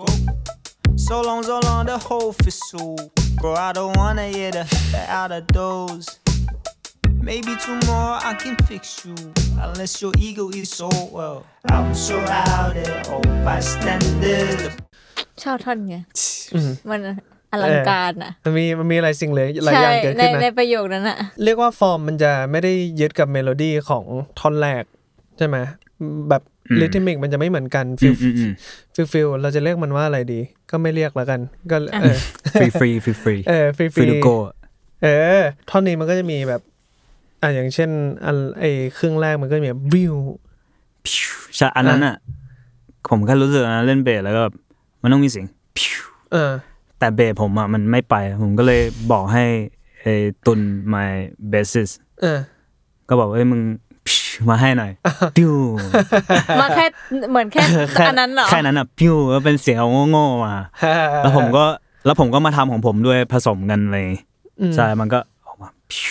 So long the whole fizzle Bro I don't wanna hear the out of those Maybe tomorrow I can fix you Unless your ego is so well I'm surrounded all bystanders
ชอบท่อนไงมันอลังการอ่ะ
มันมีอะไรสิ่งเลยหลายอย่างเกิดขึ้นนะ
ในประโยคนั้นอ่ะ
เรียกว่าฟอร์มมันจะไม่ได้ยึดกับเมโลดี้ของท่อนแรกใช่ไหมแบบริทึมิกมันจะไม่เหมือนกันฟิลเราจะเรียกมันว่าอะไรดีก็ไม่เรียกแล้วกันก็
ฟรี
ฟรีโกท่อนนี้มันก็จะมีแบบอย่างเช่นไอ้ครึ่งแรกมันก็จะมีวิว
ใช่อันนั้นอ่ะผมก็รู้สึกนะเล่นเบสแล้วก็มันต้องมีเสียงแต่เบสผมอ่ะมันไม่ไปผมก็เลยบอกให้ไอ้ตุน my bassist ก็บอกมึงมาให้หน่อยปิ้ว
มาแค่เหมือนแค่อันนั้นเหรอ
แค่นั้นอ่ะปิ้วก็เป็นเสียงโง่ๆมาแล้วผมก็มาทำของผมด้วยผสมกันเลยใช่มันก็ออกมา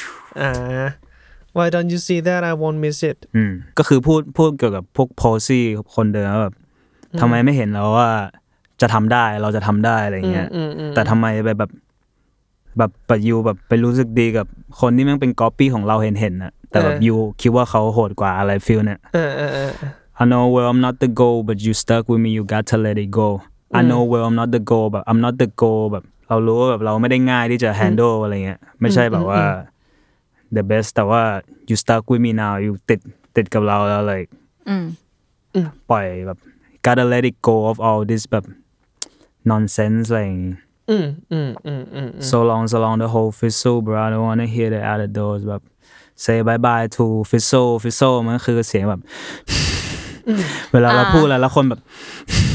Why don't you see that I won't miss it
ก็คือพูดเกี่ยวกับพวกโพซี่คนเดิมแบบทำไมไม่เห็นแล้วว่าจะทำได้เราจะทำได้อะไรเงี้ยแต่ทำไมแบบยูแบบไปรู้สึกดีกับคนที่แม่งเป็นก๊อปปี้ของเราเห็นน่ะแต่แบบยูคิดว่าเขาโหดกว่าอะไรฟีลเนี่ยI know well I'm not the goal but you stuck with me you got to let it go I know well I'm not the goal แบบ I'm not the goal แบบเรารู้ว่าแบบเราไม่ได้ง่ายที่จะ handle อะไรเงี้ยไม่ใช่แบบว่า the best แต่ว่า you stuck with me now you ติดกับเราแล้ว like ปล่อยแบบ gotta let it go of all this แบบ nonsense อะไรอย่างงี้so long the whole fizzle bro I don't wanna hear the out of doors แบบ say bye bye to fizzle มันก็คือเสียงแบบเวลาเราพูดแล้วคนแบบ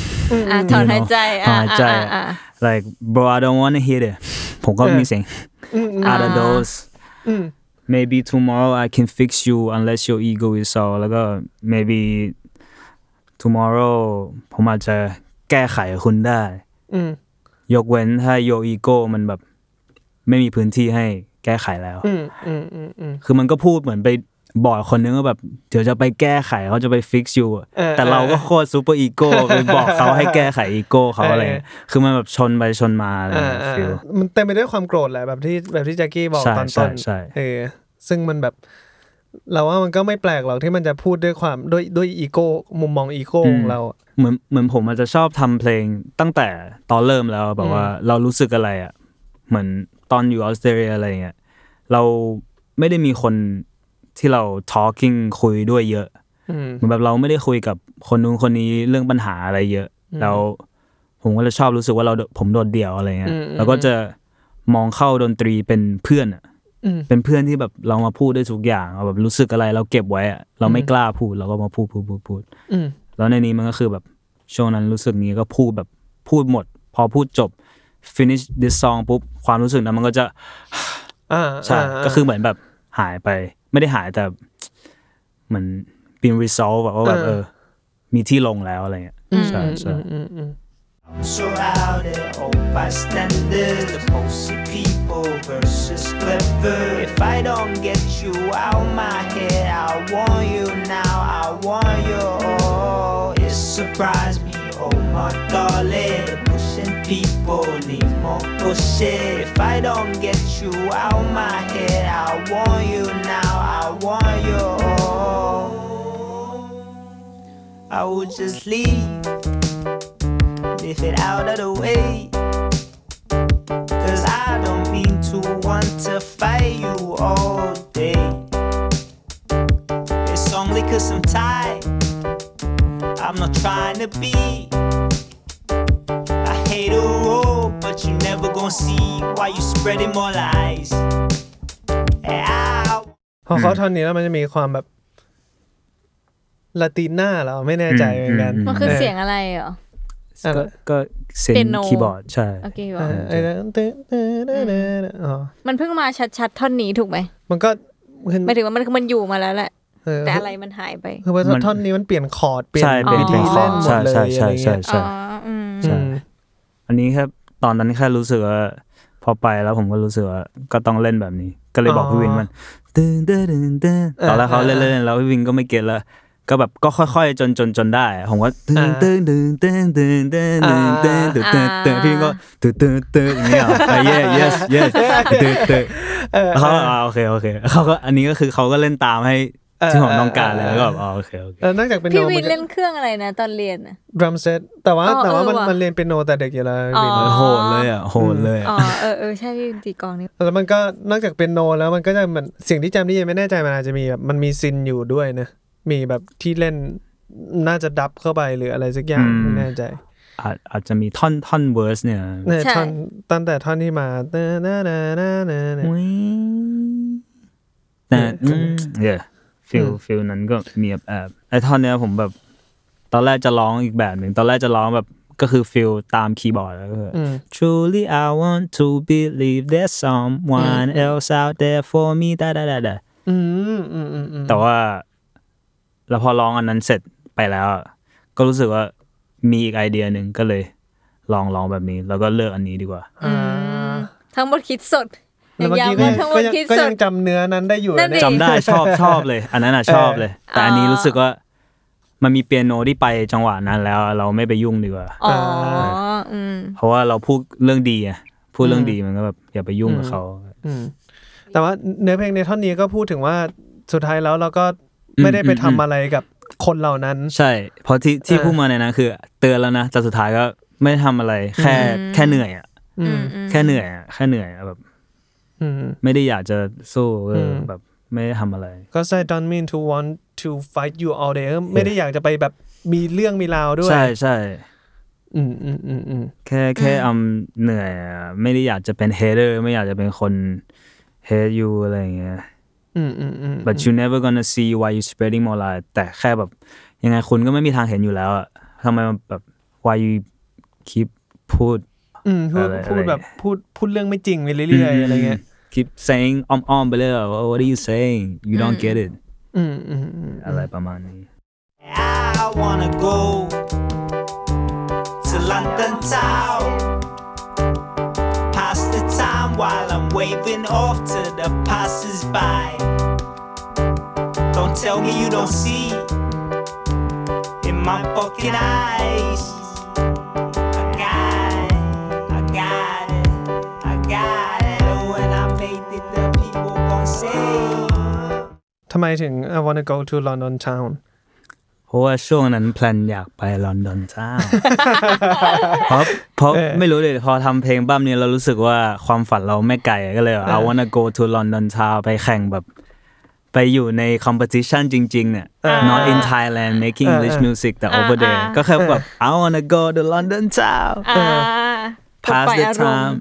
ถอนหายใจ
like bro I don't wanna hear it ผมก็มีเสียง out of those maybe tomorrow I can fix you unless your ego is sold แล้วก็ maybe tomorrow ผมอาจจะแก้ไขคุณได้ยกเว้นถ้า your ego มันแบบไม่มีพื้นที่ให้แก้ไขแล้วคือมันก็พูดเหมือนไปบอกคนนึงว่าแบบเดี๋ยวจะไปแก้ไขเขาจะไป fix you แต่เราก็โคตรซูเปอร์อีโก้ไปบอกเขาให้แก้ไขอีโก้เขาอะไรคือมันแบบชนไปชนมาอะไรฟีล
มันเต็มไปด้วยความโกรธแหละแบบที่แจ็คกี้บอกตอนต้นซึ่งมันแบบเราว่ามันก็ไม่แปลกหรอกที่มันจะพูดด้วยความด้วยอีโก้มุมมองอีโก้ของเรา
เหมือนผมอาจจะชอบทำเพลงตั้งแต่ตอนเริ่มแล้วแบบว่าเรารู้สึกอะไรอ่ะเหมือนตอนอยู่ออสเตรเลียอะไรเงี้ยเราไม่ได้มีคนที่เรา talking คุยด้วยเยอะเหมือนแบบเราไม่ได้คุยกับคนนู้นคนนี้เรื่องปัญหาอะไรเยอะแล้วผมก็จะชอบรู้สึกว่าผมโดดเดี่ยวอะไรเงี้ยแล้วก็จะมองเข้าดนตรีเป็นเพื่อนอ่ะเป็นเพื่อนที่แบบเรามาพูดได้ทุกอย่างแบบรู้สึกอะไรเราเก็บไว้อ่ะเราไม่กล้าพูดเราก็มาพูดแล้วในนี้มันก็คือแบบช่วงนั้นรู้สึกนี้ก็พูดแบบพูดหมดพอพูดจบ finish this song ปุ๊บความรู้สึกนั้นมันก็จะใช่ก็คือเหมือนแบบหายไปไม่ได้หายแต่เหมือนเป็น resolve แบบว่าแบบมีที่ลงแล้วอะไรเงี้ยใช่
Surrounded all bystanders, the posted people versus clever. If I don't get you out my head, I want you now, I want you. Oh, it surprised me, oh my darling. The pushing people need more pushing. If I don't get you out my head, I want you now, I want you. Oh, I would just leave.If it out of the way, 'cause I don't mean to want to fight you all day. It's only 'cause I'm tired, I'm not trying to be I hate a road, but you never gonna see why you spreading more lies.
พอเขาท่อนนี้แล้วมันจะมีความแบบลาติน่าเหรอไม่แน่ใจเหมือนกัน
มันคือเสียงอะไรเหรอ
ก็เซนคีย์บอร์ดใช่
โอเคมันเพิ่งมาชัดๆท่อนนี้ถูกไหม
มันก็
หมายถึงว่ามันอยู่มาแล้วแหละแต่อะไรมันหายไป
คือว่าท่อนนี้มันเปลี่ยนคอร์ดเปลี่ยนวิธีเล่นหมดเลยอะไรเงี้ย
ใช่อันนี้แค่ตอนนั้นแค่รู้สึกว่าพอไปแล้วผมก็รู้สึกว่าก็ต้องเล่นแบบนี้ก็เลยบอกพี่วินมันตอนแรกเขาเล่นแล้วพี่วินก็ไม่เก็ตแล้วก็แบบก็ค่อยๆจนได้ผมก็ตึ้งพี่ก็ตึ้งอย่างเงี้ยyes ตึ้งเขาโอเคเขาก็อันนี้ก็คือเขาก็เล่นตามให้ที่ผมต้องการเลยแล้วก็โอเคน
อกจากเป็น
พี่วินเล่นเครื่องอะไรนะตอนเรียนน่ะ
drum set แต่ว่ามันเรียนเปียโนแต่เด็กอยู่แล้ววิน
โหดเลย
อ๋อใช่พี่ตีกลองนี่
แล้วมันก็นอกจากเปียโนแล้วมันก็จะเหมือนสิ่งที่จำได้ยังไม่แน่ใจมันอาจจะมีแบบมันมีซินอยู่ด้วยนะมีแบบที่เล่นน่าจะดับเข้าไปหรืออะไรสักอย่างไม่แน่ใจ
อาจจะมีท่อนเวิร์สเนี่ย
ท่อนตั้งแต่ท่อนที่มา
ฟิลนั้นก็มีแอบไอ้ท่อนเนี้ยผมแบบตอนแรกจะร้องอีกแบบหนึ่งตอนแรกจะร้องแบบก็คือฟิลตามคีย์บอร์ดแล้วก็ Truly I want to believe there's someone else out there for me ได้แต่ว่าแล้วพอร้องอันนั้นเสร็จไปแล้วก็รู้สึกว่ามีอีกไอเดียหนึ่งก็เลยลองแบบนี้แล้วก็เลือกอันนี้ดีกว่า
ทั้งหมดคิดสด
แล้วเมื่อกี้ก็ยังจำเนื้อนั้นได้อยู่
จำได้ชอบเลยอันนั้นชอบเลยแต่อันนี้รู้สึกว่ามันมีเปียโนที่ไปจังหวะนั้นแล้วเราไม่ไปยุ่งดีกว่าเพราะว่าเราพูดเรื่องดีอ่ะพูดเรื่องดีมันก็แบบอย่าไปยุ่งกับเขา
แต่ว่าเนื้อเพลงในท่อนนี้ก็พูดถึงว่าสุดท้ายแล้วเราก็ไม่ได้ไปทำอะไรกับคนเหล่านั้น
ใช่เพราะที่พูดมาในนั้นคือเตือนแล้วนะแต่สุดท้ายก็ไม่ทำอะไรแค่เหนื่อยอ่ะแค่เหนื่อยแบบไม่ได้อยากจะสู้แบบไม่ได้ทำอะไร
ก็ I don't mean to want to fight you all day ไม่ได้อยากจะไปแบบมีเรื่องมีราวด้วย
ใช่แค่เหนื่อยไม่ได้อยากจะเป็น hater ไม่อยากจะเป็นคน hate you อะไรอย่างเงี้ยbut you never gonna see why you spreading more lies แต่แค่แบบยังไงคุณก็ไม่มีทางเห็นอยู่แล้วอะทำไมแบบ why you keepพูด
แบบพูดเรื่องไม่จริงไปเรื่อยๆอะไรเงี้ย
keep saying อ้อมๆไปเลย what are you saying you don't get it อะไรประมาณนี้
I wanna go to London town, pass the time while I'm waving off to the passers-by. Don't tell me you don't see in my fucking eyes. I got it. When I made it, the people gon' say.
ทำไมถึง I wanna go to London town
เพราะว่าช่วงนั้นแพลนอยากไปลอนดอนเจ้า เพราะไม่รู้เลยพอทำเพลงบ้ามนี้เรารู้สึกว่าความฝันเราไม่ไกลก็เลย I wanna go to London town ไปแข่งแบบไปอยู่ใน competition จริงๆเนี่ย not in Thailand making English music แต่ over there ก็แค่แบบ I wanna go to London town pass the time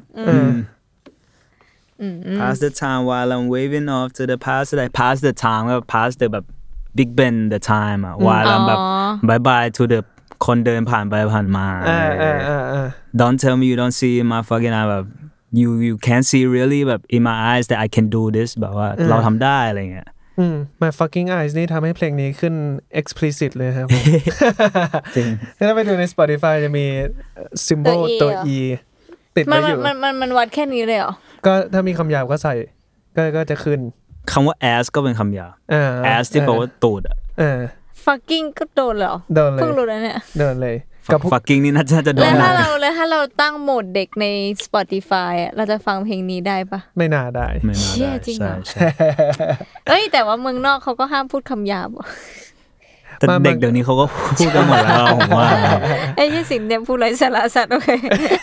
pass the time while I'm waving off to the pass the time ก็ pass the แบบ Big Ben the time อ่ะ while I'm แบบ bye bye to the คนเดินผ่านไปผ่านมา Don't tell me you don't see my fucking eye แบบ you can't see really แบบ in my eyes that I can do this แบบว่าเราทำได้อะไรเงี้ย
My fucking eyes นี่ทำให้เพลงนี้ขึ้น explicit เลยครับผม
จริง
ถ้าไปดูใน Spotify จะมี symbol ตัว E ติดไว้อยู่
มันวัดแค่นี้เลยเหรอ
ก็ถ้ามีคำหยาบก็ใส่ก็จะขึ้น
คำว่า ass ก็เป็นคำหยาบ ass ที่แปลว่าตูดอ่ะ
fucking ก็โดนเหรอ
โดนเลย
เพิ่งรู้แล้วเนี่ย
โดนเลย
กับ fucking นี่น่าจะโดน
แล้วถ้าเราตั้งโหมดเด็กใน Spotify อ่ะเราจะฟังเพลงนี้ได้ปะ
ไม่น่าได้
เชี่ยจริงเหรอเอ้ยแต่ว่าเมืองนอกเขาก็ห้ามพูดคำหยาบ
แต่เด็กเดี๋ยวนี้เขาก็พูดกันหมดแล้วผมว่า
ไอ้ยี่สินเนี่ยพูดไรสาระสัตว์โอเค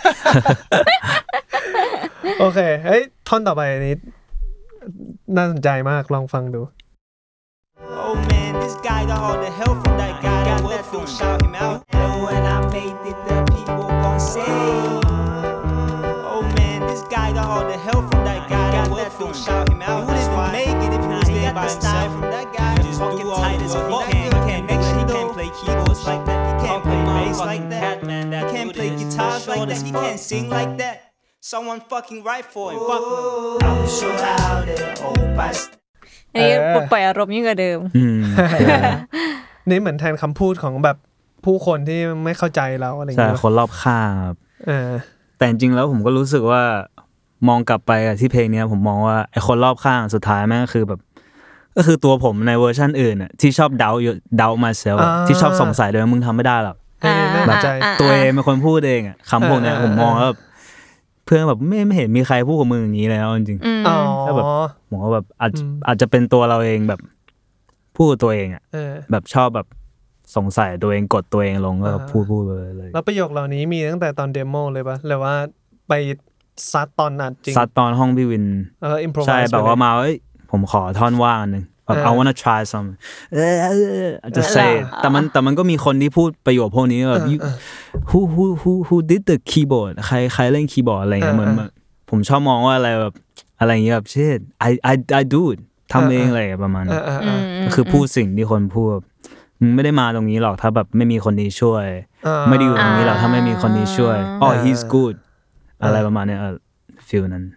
โอเคเฮ้ยท่อนต่อไปนี้น่าสนใจมากลองฟังดู
Oh man, this guy got all the help from that guy that will from shout him out. And when I made it, the people gon' say. Oh man, this guy got all the help from that guy that will from shout him out. He wouldn't even make it if he was there by himself. From that guy, just fucking tight as fuck. He can't make sure he can't play keyboards like that. He can't play bass like that. He can't play guitars like that. He can't sing like that. Someone fucking write for him. Fuck him. I'm so loud and hope I.
ไอ้ปล่อยอารมณ์ยิ่งกว่าเดิม
นี่เหมือนแทนคำพูดของแบบผู้คนที่ไม่เข้าใจเราอะไรอย่างเงี้ย
ใช่คนรอบข้างครับแต่จริงๆแล้วผมก็รู้สึกว่ามองกลับไปที่เพลงนี้ผมมองว่าไอ้คนรอบข้างสุดท้ายแม่งก็คือแบบก็คือตัวผมในเวอร์ชันอื่นน่ะที่ชอบเดา myself ที่ชอบสงสัยด้วยมึงทำไม่ได้หรอก
แบบ
ตัวเองเป็นคนพูดเองอ่ะคำพวกนี้ผมมองว่าเพื่อนแบบไม่เห็นมีใครพูดกับมึงอย่างนี้แล้วจริงๆก็แบบผมว่าแบบอาจจะเป็นตัวเราเองแบบพูดตัวเองอ่ะแบบชอบแบบสงสัยตัวเองกดตัวเองลงก็พูดเลย
แล้วประโยคเหล่านี้มีตั้งแต่ตอนเดโมเลยปะหรือว่าไปซัดตอนอัดจริง
ซัดตอนห้องพี่วินใช่แบบว่ามาผมขอท่อนว่างนึงแบบ I wanna try some จะเซแต่มันก็มีคนที่พูดประโยคพวกนี้แบบ who did the keyboard ใครเล่นคีย์บอร์ดอะไรเงี้ยเหมือนผมชอบมองว่าอะไรแบบอะไรเงี้ยแบบเช่น I do it ทำเองอะไรประมาณนั้นก็คือพูดสิ่งที่คนพูดมึงไม่ได้มาตรงนี้หรอกถ้าแบบไม่มีคนนี้ช่วยไม่ได้อยู่ตรงนี้หรอกถ้าไม่มีคนนี้ช่วยhe's good อะไรประมาณนี้ฟีลนั้น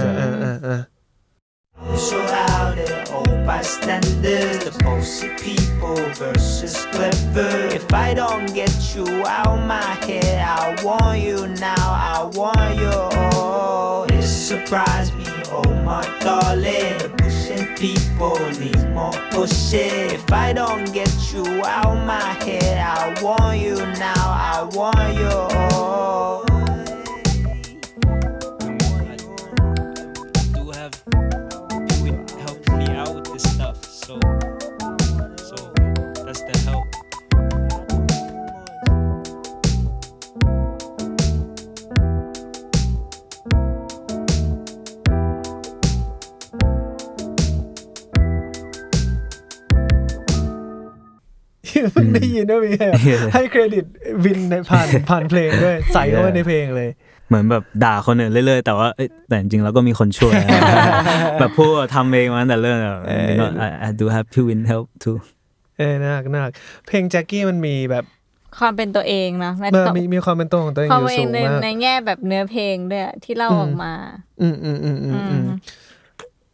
So loud and hope I standards. The bullshit people versus clever. If I don't get you out my head, I want you now. I want you. Oh, it surprised me, oh my darling. The pushing people need more pushing. If I don't get you out my head, I want you now. I want you. Oh. So that's the help.
เพิ่งได้ยินว่ามีให้เครดิตวินในผ่านเพลงด้วยใส่เข้าไปในเพลงเลย
เหมือนแบบด่าคนอื่นเรื่อยๆแต่ว่าแต่จริงๆแล้วก็มีคนช่วยแบบพูดทำเองมาตั้งแต่เริ่มแบบ I do have to win help too
น่ารักเพลงแจ็คกี้มันมีแบบ
ความเป็นตัวเองนะ
มีความเป็นตัวของตัวเองอยู่สูงมาก
ในแง่แบบเนื้อเพลงด้วยที่เล่าออกมา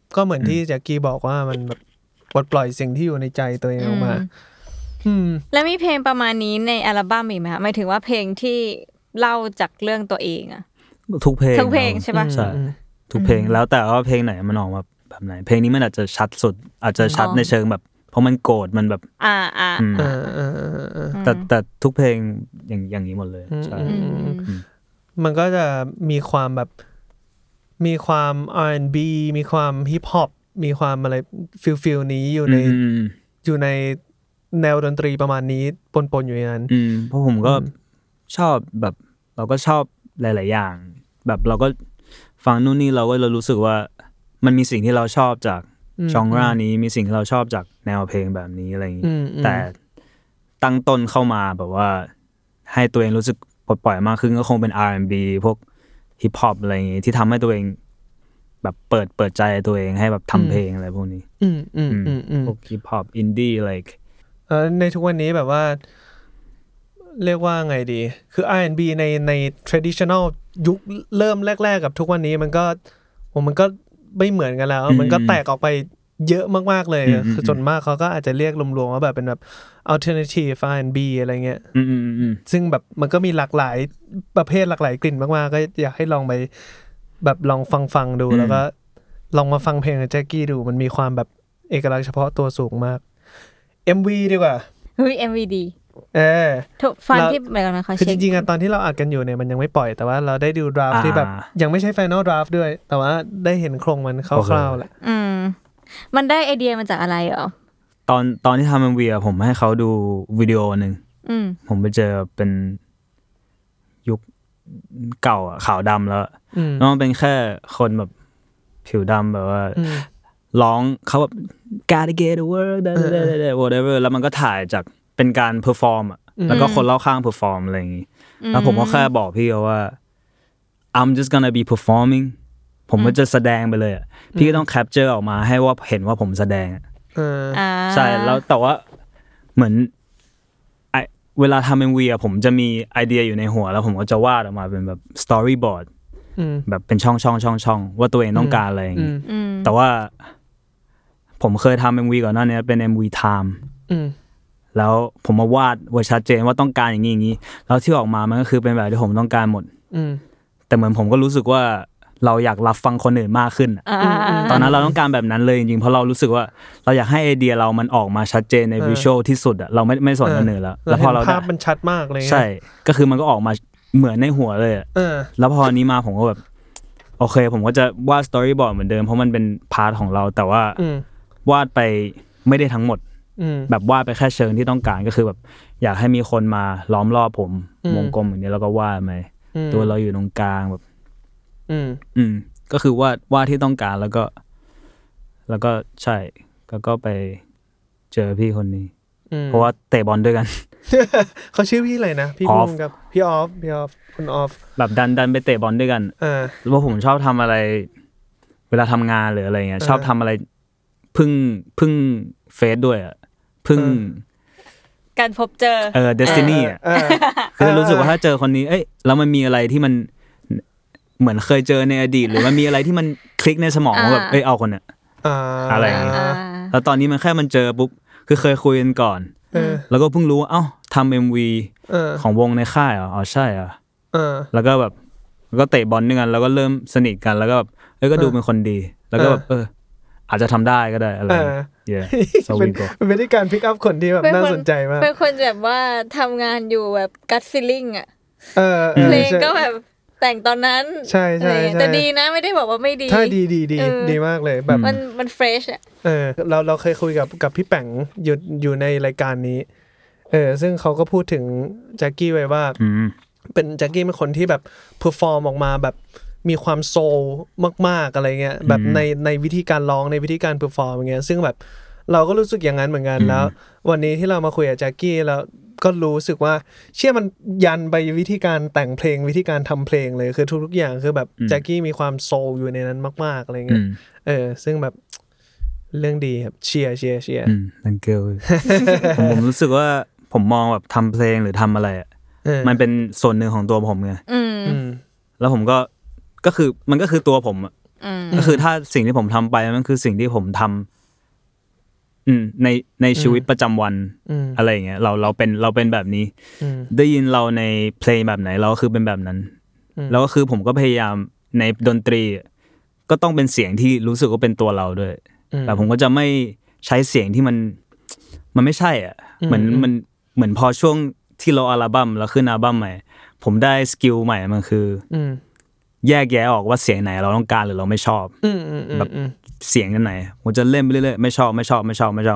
ก็เหมือนที่แจ็คกี้บอกว่ามันแบบปลดปล่อยสิ่งที่อยู่ในใจตัวเองออกมา
แล้วมีเพลงประมาณนี้ในอัลบั้มอีกไหมคะหมายถึงว่าเพลงที่เล่าจากเรื่องตัวเองอะ
ทุกเพลง
ใช่ปะ
ใช่ทุกเพลงแล้วแต่ว่าเพลงไหนมันออกมาแบบไหนเพลงนี้มันอาจจะชัดสุดอาจจะชัดในเชิงแบบเพราะมันโกรธมันแบบแต่ทุกเพลงอย่างนี้หมดเลยใช่
มันก็จะมีความแบบมีความ R&B มีความฮิปฮอปมีความอะไรฟิลนี้อยู่ในแนวดนตรีประมาณนี้ปนอยู่ในนั้น
เพราะผมก็ชอบแบบเราก็ชอบหลายๆอย่างแบบเราก็ฟังนู่นนี่เรารู้สึกว่ามันมีสิ่งที่เราชอบจากจอนรานี้มีสิ่งที่เราชอบจากแนวเพลงแบบนี้อะไรอย่างนี้แต่ตั้งต้นเข้ามาแบบว่าให้ตัวเองรู้สึกปลดปล่อยมากขึ้นก็คงเป็น R&B พวกฮิปฮอปอะไรอย่างงี้ที่ทำให้ตัวเองแบบเปิดใจตัวเองให้แบบทำเพลงอะไรพวกนี้พวกฮิปฮอปอินดี้อะไร
ในทุกวันนี้แบบว่าเรียกว่าไงดีคือ R&B ใน traditional ยุคเริ่มแรกๆกับทุกวันนี้มันก็ไม่เหมือนกันแล้วมันก็แตกออกไปเยอะมากๆเลยคือส่วนมากเขาก็อาจจะเรียกรวมๆว่าแบบเป็นแบบ alternative R&B อะไรเงี้ยซึ่งแบบมันก็มีหลากหลายประเภทหลากหลายกลิ่นมากๆก็อยากให้ลองไปแบบลองฟังดูแล้วก็ลองมาฟังเพลงของแจ็คกี้ดูมันมีความแบบเอกลักษณ์เฉพาะตัวสูงมาก MV ดีกว่า
เฮ้ย MV ดีถูกฟังที่แบบนะคะ
คือจริงๆตอนที่เราอัดกันอยู่เนี่ยมันยังไม่ปล่อยแต่ว่าเราได้ดูดราฟที่แบบยังไม่ใช่ final draft ด้วยแต่ว่าได้เห็นโครงมันคร่าวๆแหละ
มันได้ไอเดียมาจากอะไรเหรอ
ตอนที่ทำ MV ผมให้เขาดูวิดีโอนึงผมไปเจอเป็นยุคเก่าขาวดำแล้วมันเป็นแค่คนแบบผิวดำแบบว่าร้องเขาแบบ gotta get to work whatever แล้วมันก็ถ่ายจากเป็นการเพอร์ฟอร์มแล้วก็คนรอบข้างเพอร์ฟอร์มอะไรอย่างงี้แล้วผมก็แค่บอกพี่เขาว่า I'm just gonna be performing ผมก็จะแสดงไปเลยพี่ก็ต้องแคปเจอร์ออกมาให้ว่าเห็นว่าผมแสดงใช่แล้วแต่ว่าเหมือนเวลาทำ MV ผมจะมีไอเดียอยู่ในหัวแล้วผมก็จะวาดออกมาเป็นแบบสตอรี่บอร์ดแบบเป็นช่องว่าตัวเองต้องการอะไรอย่างงี้แต่ว่าผมเคยทำ MV ก่อนหน้านี้เป็น MV Time แล้วผมมาวาดไว้ชัดเจนว่าต้องการอย่างนี้แล้วที่ออกมามันก็คือเป็นแบบที่ผมต้องการหมดแต่เหมือนผมก็รู้สึกว่าเราอยากรับฟังคนอื่นมากขึ้นตอนนั้นเราต้องการแบบนั้นเลยจริงๆเพราะเรารู้สึกว่าเราอยากให้ไอเดียเรามันออกมาชัดเจนในวิชวลที่สุดเราไม่สนคนอื่นแล้วพอเรา
ภาพมันชัดมากเลย
ใช่ก็คือมันก็ออกมาเหมือนในหัวเลยแล้วพออันนี้มาผมก็แบบโอเคผมก็จะวาดสตอรี่บอร์ดเหมือนเดิมเพราะมันเป็นพาร์ทของเราแต่ว่าวาดไปไม่ได้ทั้งหมดแบบวาดไปแค่เชิงที่ต้องการก็คือแบบอยากให้มีคนมาล้อมรอบผมวงกลมอย่างนี้แล้วก็วาดไปตัวเราอยู่ตรงกลางแบบก็คือวาดที่ต้องการแล้วก็ใช่ก็ไปเจอพี่คนนี้เพราะว่าเตะบอลด้วยกัน
เขาชื่อพี่อะไรนะพี่กุ้งกับพี่ออฟคุณออฟ
แบบดันไปเตะบอลด้วยกันแล้วผมชอบทำอะไรเวลาทำงานหรืออะไรเงี้ยชอบทำอะไรพึ่งเฟซด้วยพึ่ง
การพบเจอ
destiny คือรู้สึกว่าถ้าเจอคนนี้แล้วมันมีอะไรที่มันเหมือนเคยเจอในอดีตหรือมันมีอะไรที่มันคลิกในสมองว่าแบบเอาคนเนี่ยอะไรอย่างเงี้ยแล้วตอนนี้มันแค่มันเจอปุ๊บคือเคยคุยกันก่อนแล้วก็เพิ่งรู้ว่าทำ MV ของวงในค่ายใช่แล้วก็แบบก็เตะบอลด้วยกันแล้วก็เริ่มสนิทกันแล้วก็แบบก็ดูเป็นคนดีแล้วก็แบบอาจจะทำได้ก็ได้อะไร
เป็นวิธีการพิกอัพคนที่แบบน่าสนใจมาก
เป็นคนแบบว่าทำงานอยู่แบบกัทฟีลลิ่งเพลงก็แบบแต่งตอนนั้น
ใช่
แต่ดีนะไม่ได้บอกว่าไม่ดี
ถ้าดีมากเลยแบบ
มันเฟรช
เราเคยคุยกับพี่แป๋งอยู่ในรายการนี้ซึ่งเขาก็พูดถึงแจ็คกี้ไว้ว่าเป็นแจ็คกี้เป็นคนที่แบบเพอร์ฟอร์มออกมาแบบมีความโซลมากๆอะไรเงี้ยแบบในวิธีการร้องในวิธีการเพอร์ฟอร์มอย่างเงี้ยซึ่งแบบเราก็รู้สึกอย่างนั้นเหมือนกันแล้ววันนี้ที่เรามาคุยกับแจ็คกี้แล้วก็รู้สึกว่าเชื่อมันยันไปวิธีการแต่งเพลงวิธีการทำเพลงเลยคือทุกอย่างคือแบบแจ็คกี้มีความโซลอยู่ในนั้นมากๆอะไรเงี้ยซึ่งแบบเรื่องดีครับเชียร์
thank you ผมรู้สึกว่าผมมองแบบทำเพลงหรือทำอะไรมันเป็นส่วนหนึ่งของตัวผมไงแล้วผมก็คือมันก็คือตัวผมก็คือถ้าสิ่งที่ผมทำไปมันคือสิ่งที่ผมทำในชีวิตประจำวันอะไรอย่างเงี้ยเราเป็นแบบนี้ได้ยินเราในเพลงแบบไหนเราก็คือเป็นแบบนั้นแล้วก็คือผมก็พยายามในดนตรีก็ต้องเป็นเสียงที่รู้สึกว่าเป็นตัวเราด้วยแต่ผมก็จะไม่ใช้เสียงที่มันไม่ใช่อ่ะเหมือนพอช่วงที่เราอัลบั้มแล้วขึ้นอัลบั้มใหม่ผมได้สกิลใหม่มันคือแยกแยะออกว่าเสียงไหนเราต้องการหรือเราไม่ชอบแบบเสียงกันไหนผมจะเล่นไปเรื่อยๆไม่ชอบก็คือชอบ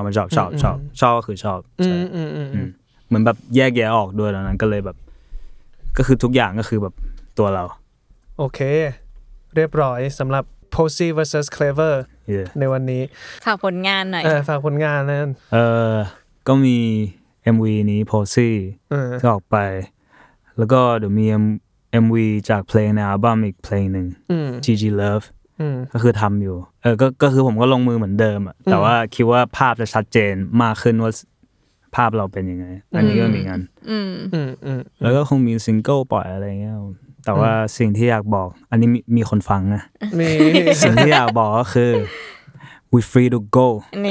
เหมือนแบบแยกแยะออกด้วยแล้วนั้นก็เลยแบบก็คือทุกอย่างก็คือแบบตัวเรา
โอเคเรียบร้อยสำหรับ Posey vs Clever ในวันนี้
ฝากผลงานหน่อย
ฝากผลงานนั่น
ก็มี MV นี้ Posey ที่ออกไปแล้วก็เดี๋ยวมี MV จากเพลงในอัลบั้มอีกเพลงหนึ่ง GG Love ก็คือทำอยู่ก็คือผมก็ลงมือเหมือนเดิมอ่ะแต่ว่าคิดว่าภาพจะชัดเจนมากขึ้นว่าภาพเราเป็นยังไงอันนี้ก็มีงานแล้วก็คงมีซิงเกิลปล่อยอะไรเงี้ยแต่ว่าสิ่งที่อยากบอกอันนี้มีคนฟังนะสิ่งที่อยากบอกก็คือ we free to go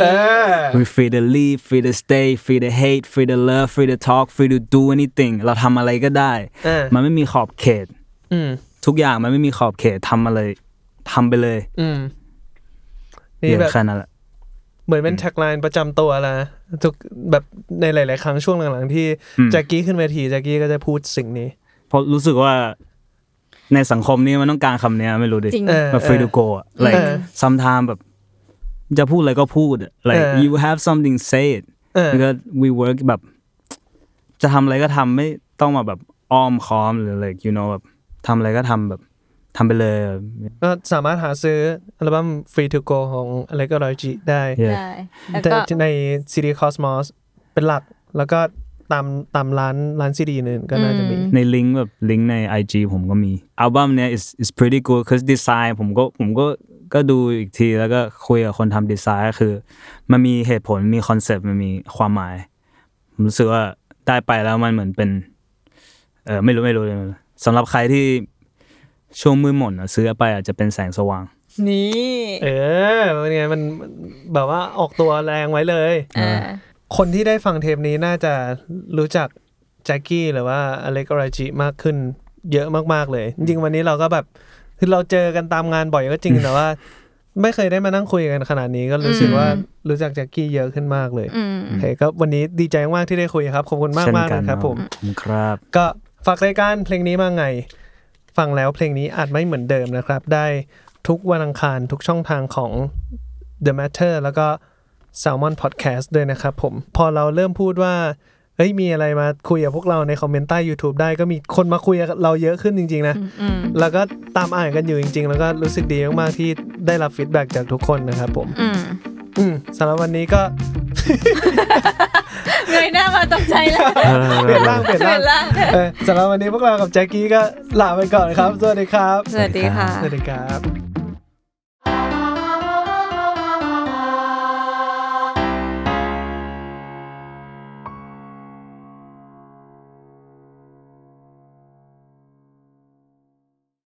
we free to leave free to stay free to hate free to love free to talk free to do anything เราทำอะไรก็ได้มันไม่มีขอบเขตทุกอย่างมันไม่มีขอบเขตทำอะไรทำไปเลย
นี่แบบ
แค่นั้นแหละ
เหมือนเป็นแท็กไลน์ประจำตัวแล้วทุกแบบในหลายๆครั้งช่วงหลังๆที่แจ็คกี้ขึ้นเวทีแจ็คกี้ก็จะพูดสิ่งนี้
เพราะรู้สึkว่าในสังคมนี้มันต้องการคำนี้ไม่รู้ดิแบบ free to go อ่ะ like sometimes แบบจะพูดอะไรก็พูด like you have something say it because we work แบบจะทำอะไรก็ทำไม่ต้องมาแบบอ้อมค้อมหรือ like you know แบบทำอะไรก็ทำแบบทำไปเลย
ก็สามารถหาซื้ออัลบั้ม Free to Go ของ Alex Royji ได้ใน CD Cosmos เป็นหลักแล้วก็ตามร้านซีดีนึงก็น่าจะมี
ในลิงก์แบบลิงก์ใน IG ผมก็มีอัลบั้มเนี้ย is pretty good cause design ผมก็ดูอีกทีแล้วก็คุยกับคนทำดีไซน์ก็คือมันมีเหตุผลมีคอนเซปต์มันมีความหมายผมรู้สึกว่าได้ไปแล้วมันเหมือนเป็นไม่รู้สำหรับใครที่ช่วงมืดมนซื้อไปอาจจะเป็นแสงสว่าง
นี่
เป็นไงมันแบบว่าออกตัวแรงไว้เลยคนที่ได้ฟังเทปนี้น่าจะรู้จักแจ็คกี้หรือว่าอเล็กอราจิมากขึ้นเยอะมากๆเลยจริงๆวันนี้เราก็แบบคือเราเจอกันตามงานบ่อยก็จริงแต่ว่าไม่เคยได้มานั่งคุยกันขนาดนี้ก็รู้สึกว่ารู้จักแจ็คกี้เยอะขึ้นมากเลยโอเคก็วันนี้ดีใจมากที่ได้คุยครับขอบคุณมากๆนะครับผม
ครับ
ก็ฝากรายการเพลงนี้มาไงฟังแล้วเพลงนี้อาจไม่เหมือนเดิมนะครับได้ทุกวันอังคารทุกช่องทางของ The Matter แล้วก็ Salmon Podcast ด้วยนะครับผมพอเราเริ่มพูดว่าเฮ้ยมีอะไรมาคุยกับพวกเราในคอมเมนต์ใต้ YouTube ได้ก็มีคนมาคุยกับเราเยอะขึ้นจริงๆนะแล้วก็ตามอ่านกันอยู่จริงๆแล้วก็รู้สึกดีมากๆที่ได้รับฟีดแบ็กจากทุกคนนะครับผมสำหรับวันนี้ก็
เงยหน้ามาตกใจแล้ว
เปลี่ยนร่างสำหรับวันนี้พวกเรากับแจ็คกี้ก็ลาไปก่อนครับสวัสดีครับ
สวัสดีค่ะ
สวัสดีครับ